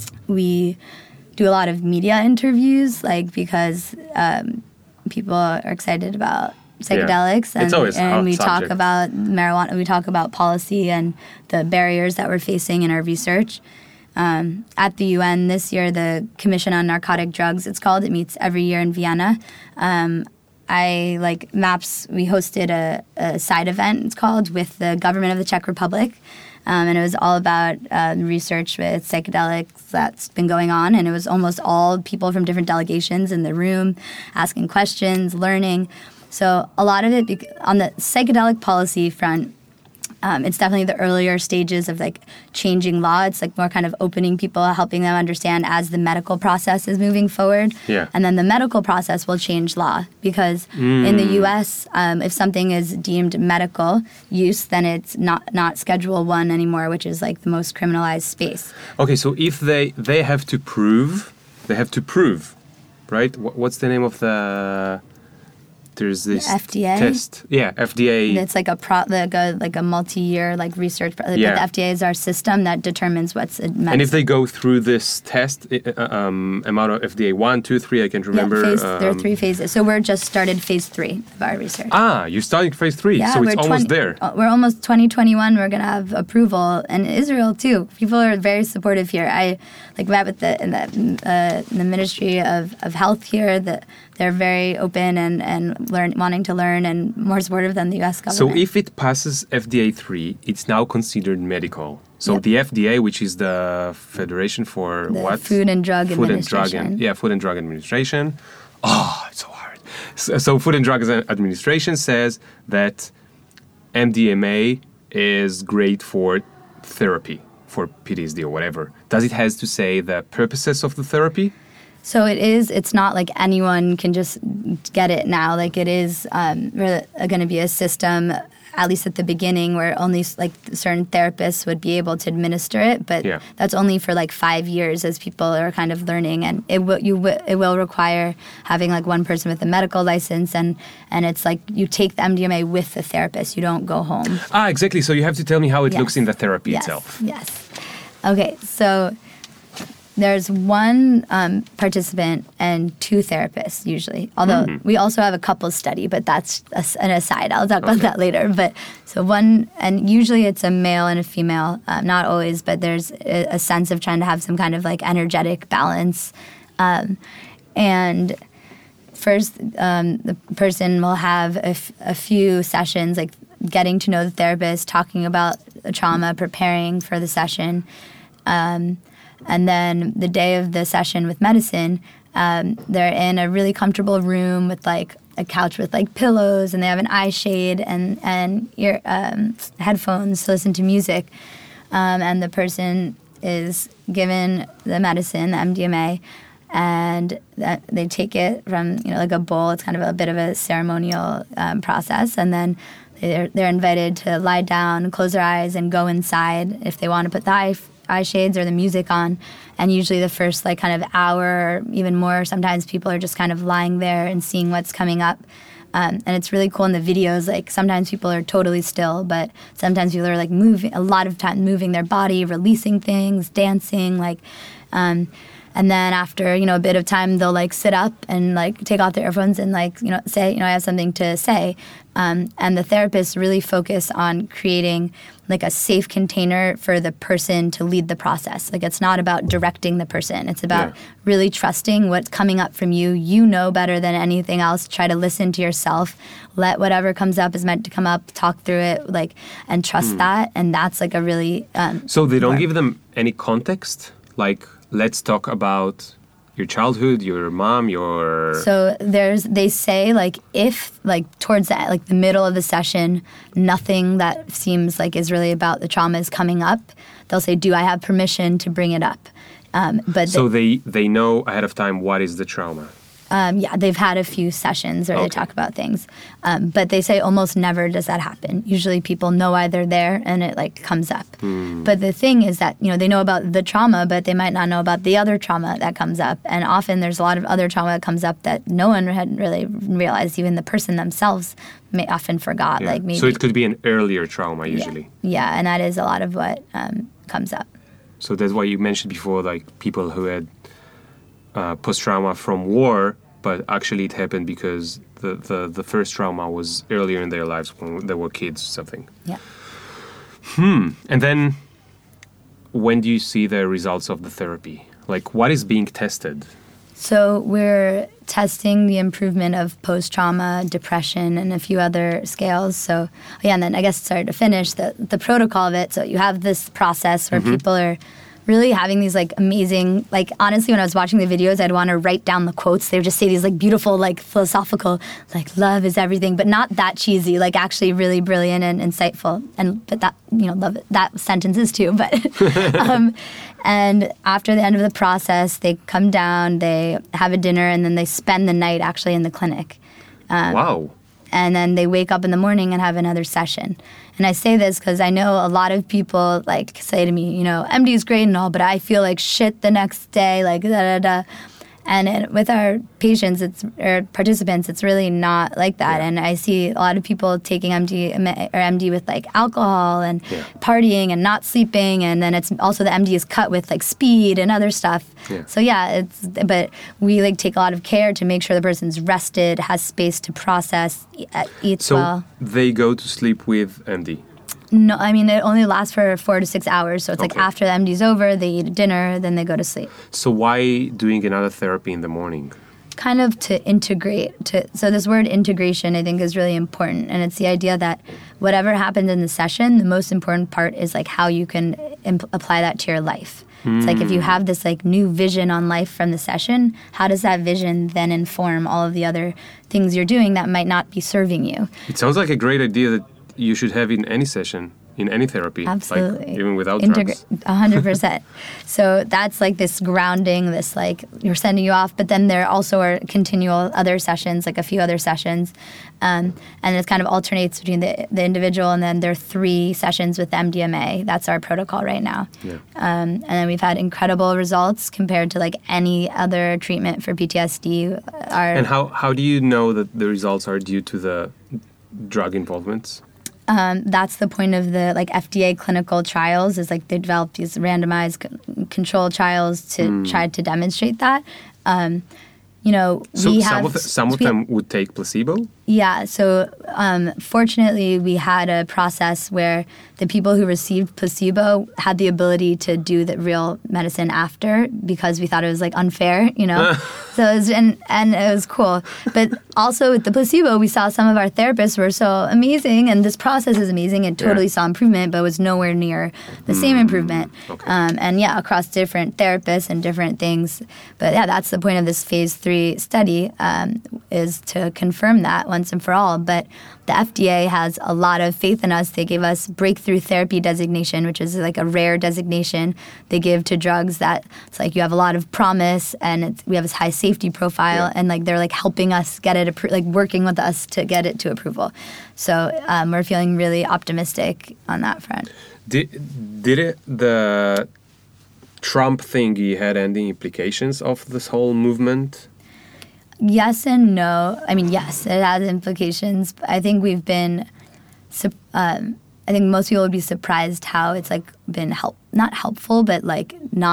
we do a lot of media interviews, like, because um, people are excited about psychedelics. Yeah. And, it's always and we subject. talk about marijuana, we talk about policy and the barriers that we're facing in our research. Um, at the U N this year, the Commission on Narcotic Drugs, it's called, it meets every year in Vienna. Um, I, like, MAPS, we hosted a, a side event, it's called, with the government of the Czech Republic. Um, and it was all about uh, research with psychedelics that's been going on. And it was almost all people from different delegations in the room asking questions, learning. So a lot of it, bec- on the psychedelic policy front, Um, it's definitely the earlier stages of, like, changing law. It's, like, more kind of opening people, helping them understand as the medical process is moving forward. Yeah. And then the medical process will change law because mm. in the U S, um, if something is deemed medical use, then it's not, not Schedule One anymore, which is, like, the most criminalized space. Okay, so if they, they have to prove, they have to prove, right? What's the name of the... There's this the F D A test. Yeah, F D A. It's like a pro, like a like a multi-year like research. Pro- yeah. But the F D A is our system that determines what's a medicine. And if they go through this test, uh, um, amount of F D A one, two, three, I can't remember. Yeah, phase, um, there are three phases. So we're just started phase three of our research. Ah, you're starting phase three, yeah, so it's almost twenty, there. We're almost twenty twenty-one. We're gonna have approval, and Israel too. People are very supportive here. I like met with the in the, uh, in the Ministry of, of Health here. That they're very open and and learn wanting to learn. and more supportive than the U S government. So if it passes F D A three, it's now considered medical. So yep. the F D A, which is the Federation for the what? Food and Drug Food Administration. And drug and, yeah, Food and Drug Administration. Oh, it's so hard. So, so Food and Drug Administration says that M D M A is great for therapy, for P T S D or whatever. Does it has to say the purposes of the therapy? So it is, it's not like anyone can just get it now. Like it is um, really going to be a system, at least at the beginning, where only like certain therapists would be able to administer it. But yeah. that's only for like five years as people are kind of learning. And it will, you w- it will require having like one person with a medical license. And, and it's like you take the M D M A with the therapist. You don't go home. Ah, exactly. So you have to tell me how it yes. looks in the therapy yes. itself. Yes. Okay, so... There's one um, participant and two therapists usually. Although mm-hmm. we also have a couples study, but that's a, an aside. I'll talk about okay. that later. But so one, and usually it's a male and a female. Um, not always, but there's a, a sense of trying to have some kind of like energetic balance. Um, and first, um, the person will have a, f- a few sessions, like getting to know the therapist, talking about the trauma, preparing for the session. Um, And then the day of the session with medicine, um, they're in a really comfortable room with like a couch with like pillows, and they have an eye shade and and ear um, headphones to listen to music. Um, and the person is given the medicine, the M D M A, and that they take it from you know like a bowl. It's kind of a bit of a ceremonial um, process, and then they're they're invited to lie down, close their eyes, and go inside if they want to put the eye. eye shades or the music on, and usually the first like kind of hour or even more, sometimes people are just kind of lying there and seeing what's coming up. Um, and it's really cool in the videos, like sometimes people are totally still, but sometimes people are like moving, a lot of time moving their body, releasing things, dancing, like, um, and then after, you know, a bit of time, they'll like sit up and like take off their earphones and like, you know, say, you know, I have something to say. Um, and the therapists really focus on creating like a safe container for the person to lead the process. Like it's not about directing the person. It's about Yeah. really trusting what's coming up from you. You know better than anything else. Try to listen to yourself. Let whatever comes up is meant to come up. Talk through it, like, and trust that. And that's like a really um, So they don't more- give them any context? Like, let's talk about your childhood, your mom, your... So there's, they say like if like towards the, like the middle of the session, nothing that seems like is really about the trauma is coming up, they'll say, do I have permission to bring it up? Um, but So the- they, they know ahead of time what is the trauma. um, yeah, they've had a few sessions where they Okay. talk about things. Um, but they say almost never does that happen. Usually people know why they're there and it like comes up. Hmm. But the thing is that, you know, they know about the trauma, but they might not know about the other trauma that comes up. And often there's a lot of other trauma that comes up that no one had really realized, even the person themselves may often forgot. Yeah. Like maybe, So it could be an earlier trauma yeah. usually. Yeah, and that is a lot of what um, comes up. So that's why you mentioned before, like people who had uh, post-trauma from war, but actually it happened because the, the, the first trauma was earlier in their lives when they were kids or something. Yeah. And then when do you see the results of the therapy? Like what is being tested? So we're testing the improvement of post-trauma, depression, and a few other scales. So yeah, and then I guess sorry to finish the the protocol of it. So you have this process where people are really having these like amazing, like honestly, when I was watching the videos, I'd want to write down the quotes. They would just say these like beautiful, like philosophical, like love is everything, but not that cheesy. Like actually really brilliant and insightful. And but that you know love that sentences too. But um, and after the end of the process, they come down, they have a dinner, and then they spend the night actually in the clinic. Wow. And then they wake up in the morning and have another session. And I say this because I know a lot of people like say to me, you know, M D is great and all, but I feel like shit the next day, like da da da. And it, with our patients, it's or participants, it's really not like that. Yeah. And I see a lot of people taking M D or M D with like alcohol and Yeah. partying and not sleeping, and then it's also the M D is cut with like speed and other stuff. Yeah. So yeah, it's but we like take a lot of care to make sure the person's rested, has space to process, e- eats So well. they go to sleep with M D. No, I mean it only lasts for four to six hours. So it's like Okay. after the M D's over, they eat dinner, then they go to sleep. So why doing another therapy in the morning? Kind of to integrate. To so this word integration, I think, is really important, and it's the idea that whatever happened in the session, the most important part is like how you can imp- apply that to your life. It's like if you have this like new vision on life from the session, how does that vision then inform all of the other things you're doing that might not be serving you? It sounds like a great idea that you should have in any session, in any therapy. Absolutely. Like even without Integra- drugs. A hundred percent. So that's like this grounding, this like you're sending you off, but then there also are continual other sessions, like a few other sessions. Um, and it kind of alternates between the, the individual and then there are three sessions with M D M A. That's our protocol right now. Yeah. Um, and then we've had incredible results compared to like any other treatment for P T S D. Our, And how, how do you know that the results are due to the drug involvements? Um, that's the point of the like F D A clinical trials is like they develop these randomized c- control trials to Hmm. try to demonstrate that. Um, you know, So we some have of, the, some of we- them would take placebo? Yeah, so um, fortunately, we had a process where the people who received placebo had the ability to do the real medicine after because we thought it was like unfair, you know. so it was, and and it was cool. But also with the placebo, we saw some of our therapists were so amazing, and this process is amazing. It totally Yeah. saw improvement, but was nowhere near the same improvement. okay. Um, and yeah, across different therapists and different things. But yeah, that's the point of this phase three study um, is to confirm that once and for all. But the F D A has a lot of faith in us. They gave us breakthrough therapy designation, which is like a rare designation they give to drugs that it's like you have a lot of promise and it's, we have this high safety profile Yeah. and like they're like helping us get it, appro- like working with us to get it to approval. So um, we're feeling really optimistic on that front. Did, did it, the Trump thingy had any implications of this whole movement? Yes and no. I mean, yes, it has implications. I think we've been, sup- um, I think most people would be surprised how it's like been help, not helpful, but like not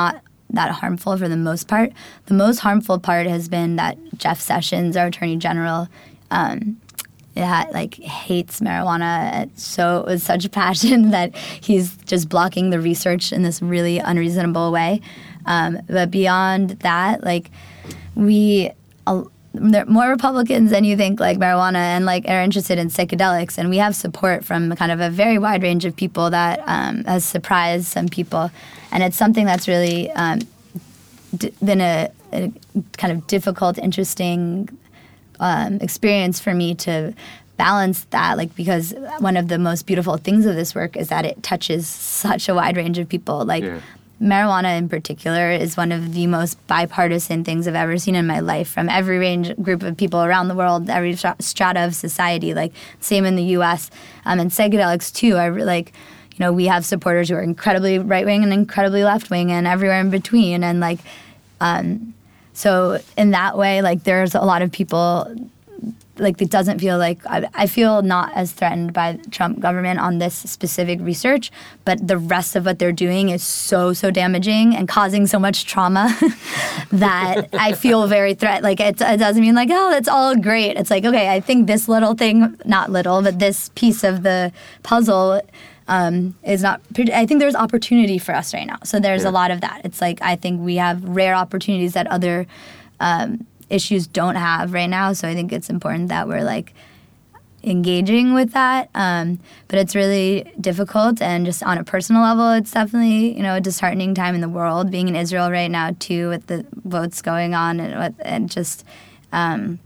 that harmful for the most part. The most harmful part has been that Jeff Sessions, our Attorney General, um, yeah, like hates marijuana so with such passion that he's just blocking the research in this really unreasonable way. Um, but beyond that, like we, uh, there are more Republicans than you think like marijuana and like are interested in psychedelics, and we have support from kind of a very wide range of people that um, has surprised some people, and it's something that's really um, d- been a, a kind of difficult, interesting Um, experience for me to balance that, like because one of the most beautiful things of this work is that it touches such a wide range of people. Like Yeah. marijuana in particular is one of the most bipartisan things I've ever seen in my life, from every range group of people around the world, every strata of society. Like same in the U S Um, and psychedelics too. I re- like. You know, we have supporters who are incredibly right wing and incredibly left wing and everywhere in between, and like. Um, So in that way, like there's a lot of people, like it doesn't feel like, I, I feel not as threatened by the Trump government on this specific research, but the rest of what they're doing is so, so damaging and causing so much trauma that I feel very threat. Like it, it doesn't mean like, oh, it's all great. It's like, okay, I think this little thing, not little, but this piece of the puzzle Um, is not. I think there's opportunity for us right now. So there's Yeah. a lot of that. It's like I think we have rare opportunities that other um, issues don't have right now. So I think it's important that we're like engaging with that. Um, but it's really difficult, and just on a personal level, it's definitely you know a disheartening time in the world. Being in Israel right now too, with the votes going on, and with, and just. Um,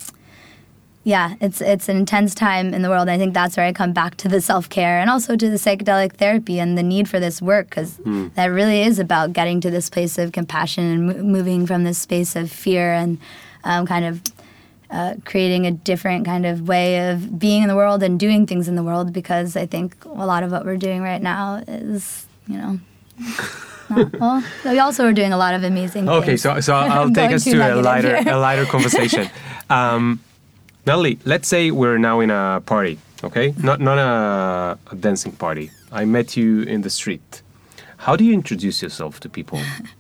Yeah, it's it's an intense time in the world. I think that's where I come back to the self-care and also to the psychedelic therapy and the need for this work, because mm. that really is about getting to this place of compassion and mo- moving from this space of fear and um, kind of uh, creating a different kind of way of being in the world and doing things in the world, because I think a lot of what we're doing right now is, you know... Not, well, we also are doing a lot of amazing okay, things. Okay, so, so I'll take us to a lighter, a lighter conversation. Um, Natalie, let's say we're now in a party, okay? Not not a, a dancing party. I met you in the street. How do you introduce yourself to people?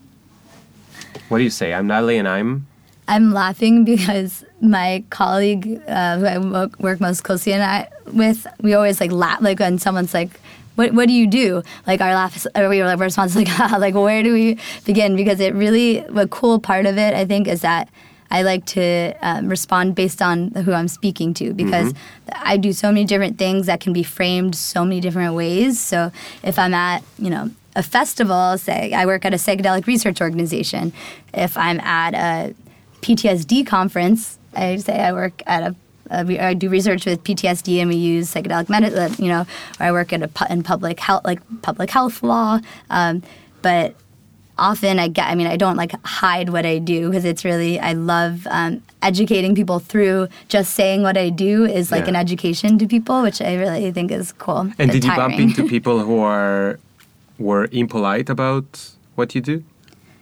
What do you say? I'm Natalie and I'm... I'm laughing because my colleague uh, who I work, work most closely and I, with, we always like laugh, like when someone's like, what what do you do? Like our laugh, is, or we our response is like, ah, like where do we begin? Because it really, the cool part of it, I think, is that I like to um, respond based on who I'm speaking to, because mm-hmm. I do so many different things that can be framed so many different ways. So if I'm at, you know, a festival, say I work at a psychedelic research organization. If I'm at a P T S D conference, I say I work at a Uh, I do research with P T S D, and we use psychedelic medicine. You know, or I work at a pu- in public health, like public health law. Um, but often, I get. I mean, I don't like hide what I do, because it's really I love um, educating people through. Just saying what I do is like yeah. an education to people, which I really think is cool. And did you bump into people who are were impolite about what you do?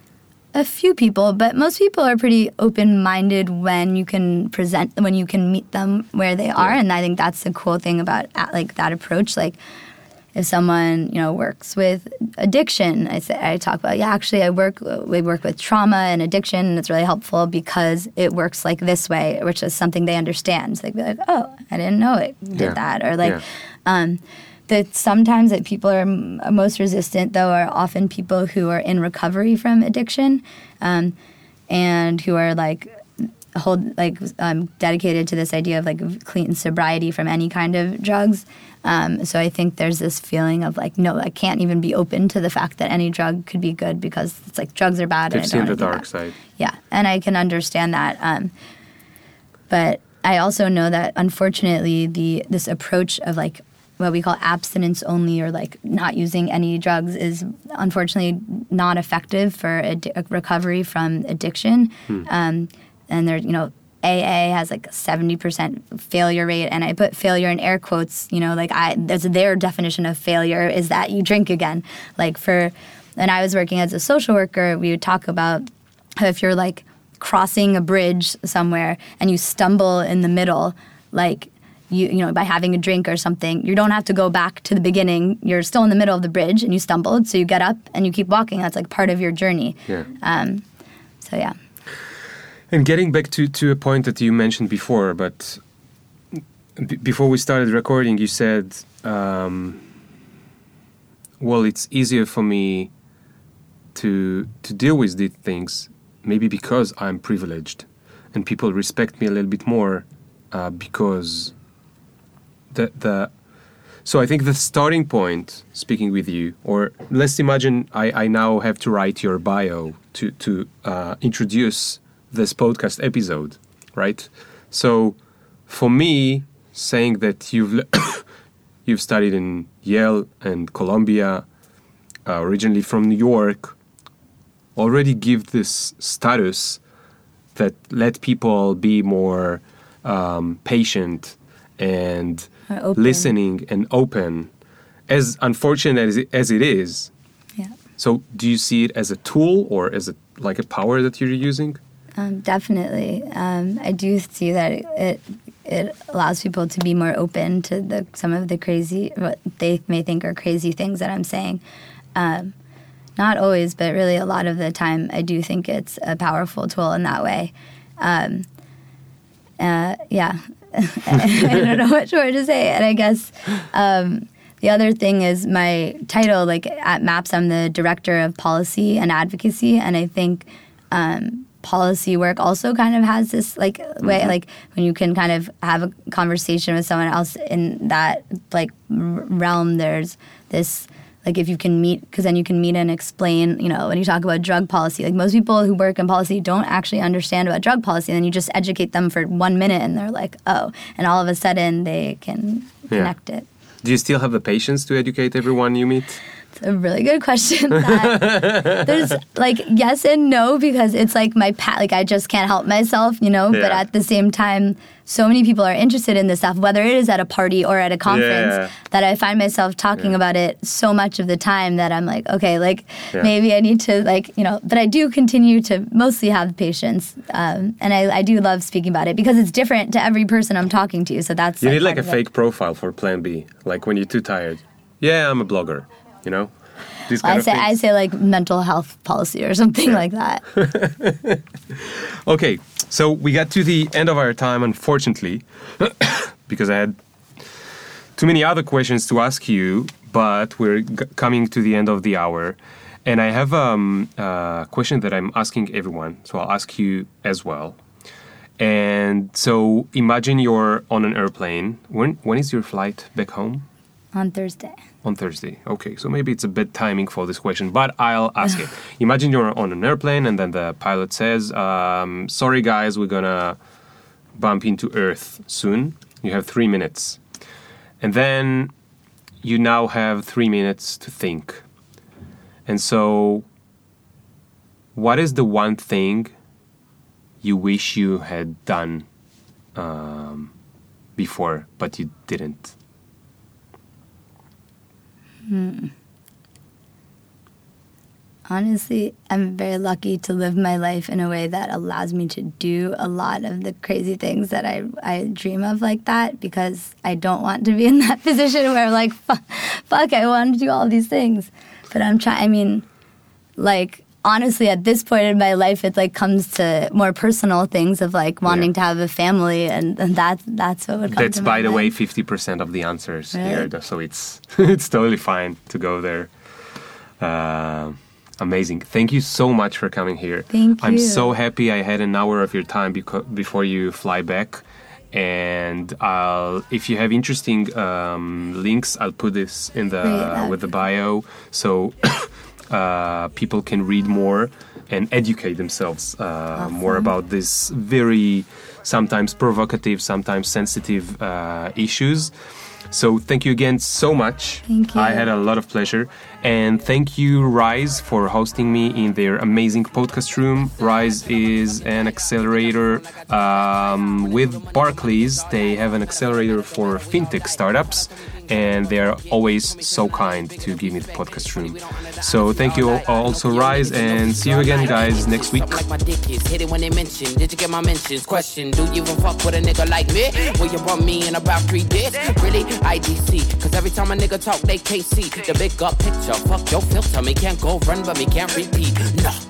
A few people, but most people are pretty open-minded when you can present, when you can meet them where they are, yeah. and I think that's the cool thing about like that approach. Like, if someone you know works with addiction, I say I talk about yeah, actually I work we work with trauma and addiction, and it's really helpful because it works like this way, which is something they understand. So they'd be like, oh, I didn't know it did yeah. that, or like. Yeah. Um, That sometimes that people are m- most resistant, though, are often people who are in recovery from addiction, um, and who are like hold like um, dedicated to this idea of like clean sobriety from any kind of drugs. Um, so I think there's this feeling of like, no, I can't even be open to the fact that any drug could be good, because it's like drugs are bad. They've and I seen don't the dark that. side. Yeah, and I can understand that. Um, but I also know that unfortunately, the this approach of like what we call abstinence only, or like not using any drugs, is unfortunately not effective for ad- recovery from addiction. Hmm. Um, and there, you know, A A has like a seventy percent failure rate, and I put failure in air quotes. You know, like I, that's their definition of failure is that you drink again. Like for, and I was working as a social worker, we would talk about how if you're like crossing a bridge somewhere and you stumble in the middle, like you you know, by having a drink or something, you don't have to go back to the beginning. You're still in the middle of the bridge and you stumbled, so you get up and you keep walking. That's like part of your journey. Yeah. Um, so yeah. And getting back to, to a point that you mentioned before, but b- before we started recording, you said, um, well, it's easier for me to to deal with these things, maybe because I'm privileged and people respect me a little bit more uh, because the the so I think the starting point, speaking with you, or let's imagine I, I now have to write your bio to to uh, introduce this podcast episode, right? So for me, saying that you've you've studied in Yale and Columbia, uh, originally from New York, already give this status that let people be more um, patient and listening and open, as unfortunate as it, as it is. Yeah. So do you see it as a tool or as a like a power that you're using? Um, definitely. Um, I do see that it, it it allows people to be more open to the some of the crazy, what they may think are crazy things that I'm saying. Um, not always, but really a lot of the time, I do think it's a powerful tool in that way. Um, uh, yeah. I don't know which word to say. And I guess um, the other thing is my title, like at MAPS, I'm the Director of Policy and Advocacy. And I think um, policy work also kind of has this like way, mm-hmm. like when you can kind of have a conversation with someone else in that like r- realm, there's this, like if you can meet, because then you can meet and explain, you know, when you talk about drug policy, like most people who work in policy don't actually understand about drug policy, and then you just educate them for one minute and they're like, oh, and all of a sudden they can connect yeah. it. Do you still have the patience to educate everyone you meet? It's a really good question. That there's like yes and no, because it's like my pa- like I just can't help myself, you know. Yeah. But at the same time, so many people are interested in this stuff, whether it is at a party or at a conference, yeah. that I find myself talking yeah. about it so much of the time that I'm like, okay, like yeah. maybe I need to like you know. But I do continue to mostly have patience, um, and I, I do love speaking about it because it's different to every person I'm talking to. So that's you like need like a fake it. profile for Plan B, like when you're too tired. Yeah, I'm a blogger. You know, these kind I of say things. I say like mental health policy or something yeah. like that. Okay, so we got to the end of our time, unfortunately, because I had too many other questions to ask you. But we're g- coming to the end of the hour, and I have um, a question that I'm asking everyone. So I'll ask you as well. And so imagine you're on an airplane. When when is your flight back home? On Thursday. On Thursday. Okay, so maybe it's a bit timing for this question, but I'll ask it. Imagine you're on an airplane and then the pilot says, um, sorry guys, we're gonna bump into Earth soon. You have three minutes. And then you now have three minutes to think. And so what is the one thing you wish you had done um, before, but you didn't? Hmm. Honestly, I'm very lucky to live my life in a way that allows me to do a lot of the crazy things that I, I dream of like that, because I don't want to be in that position where like, fuck, fuck I want to do all these things. But I'm trying, I mean, like, honestly, at this point in my life, it like comes to more personal things of like wanting yeah. to have a family, and, and that that's what would come That's, to by my the mind. way, fifty percent of the answers Really? here, so it's it's totally fine to go there. Uh, amazing. Thank you so much for coming here. Thank you. I'm so happy I had an hour of your time beco- before you fly back. And I'll, if you have interesting um, links, I'll put this in the Great, with the bio, so uh, people can read more and educate themselves uh, awesome. more about this very sometimes provocative, sometimes sensitive uh, issues. So thank you again so much. Thank you. I had a lot of pleasure. And thank you, Rise, for hosting me in their amazing podcast room. Rise is an accelerator um, with Barclays. They have an accelerator for fintech startups. and they are always so kind to give me the podcast room. So thank you also, Rise, and see you again, guys, next week. Like my dick is hit it when they mention. Did you get my mentions? Question: do you even fuck with a nigga like me? Will you want me in about three days? Really? I D C. Cause every time a nigga talk, they can't see the big up picture. Fuck your filter. Me can't go run, but me can't repeat. No.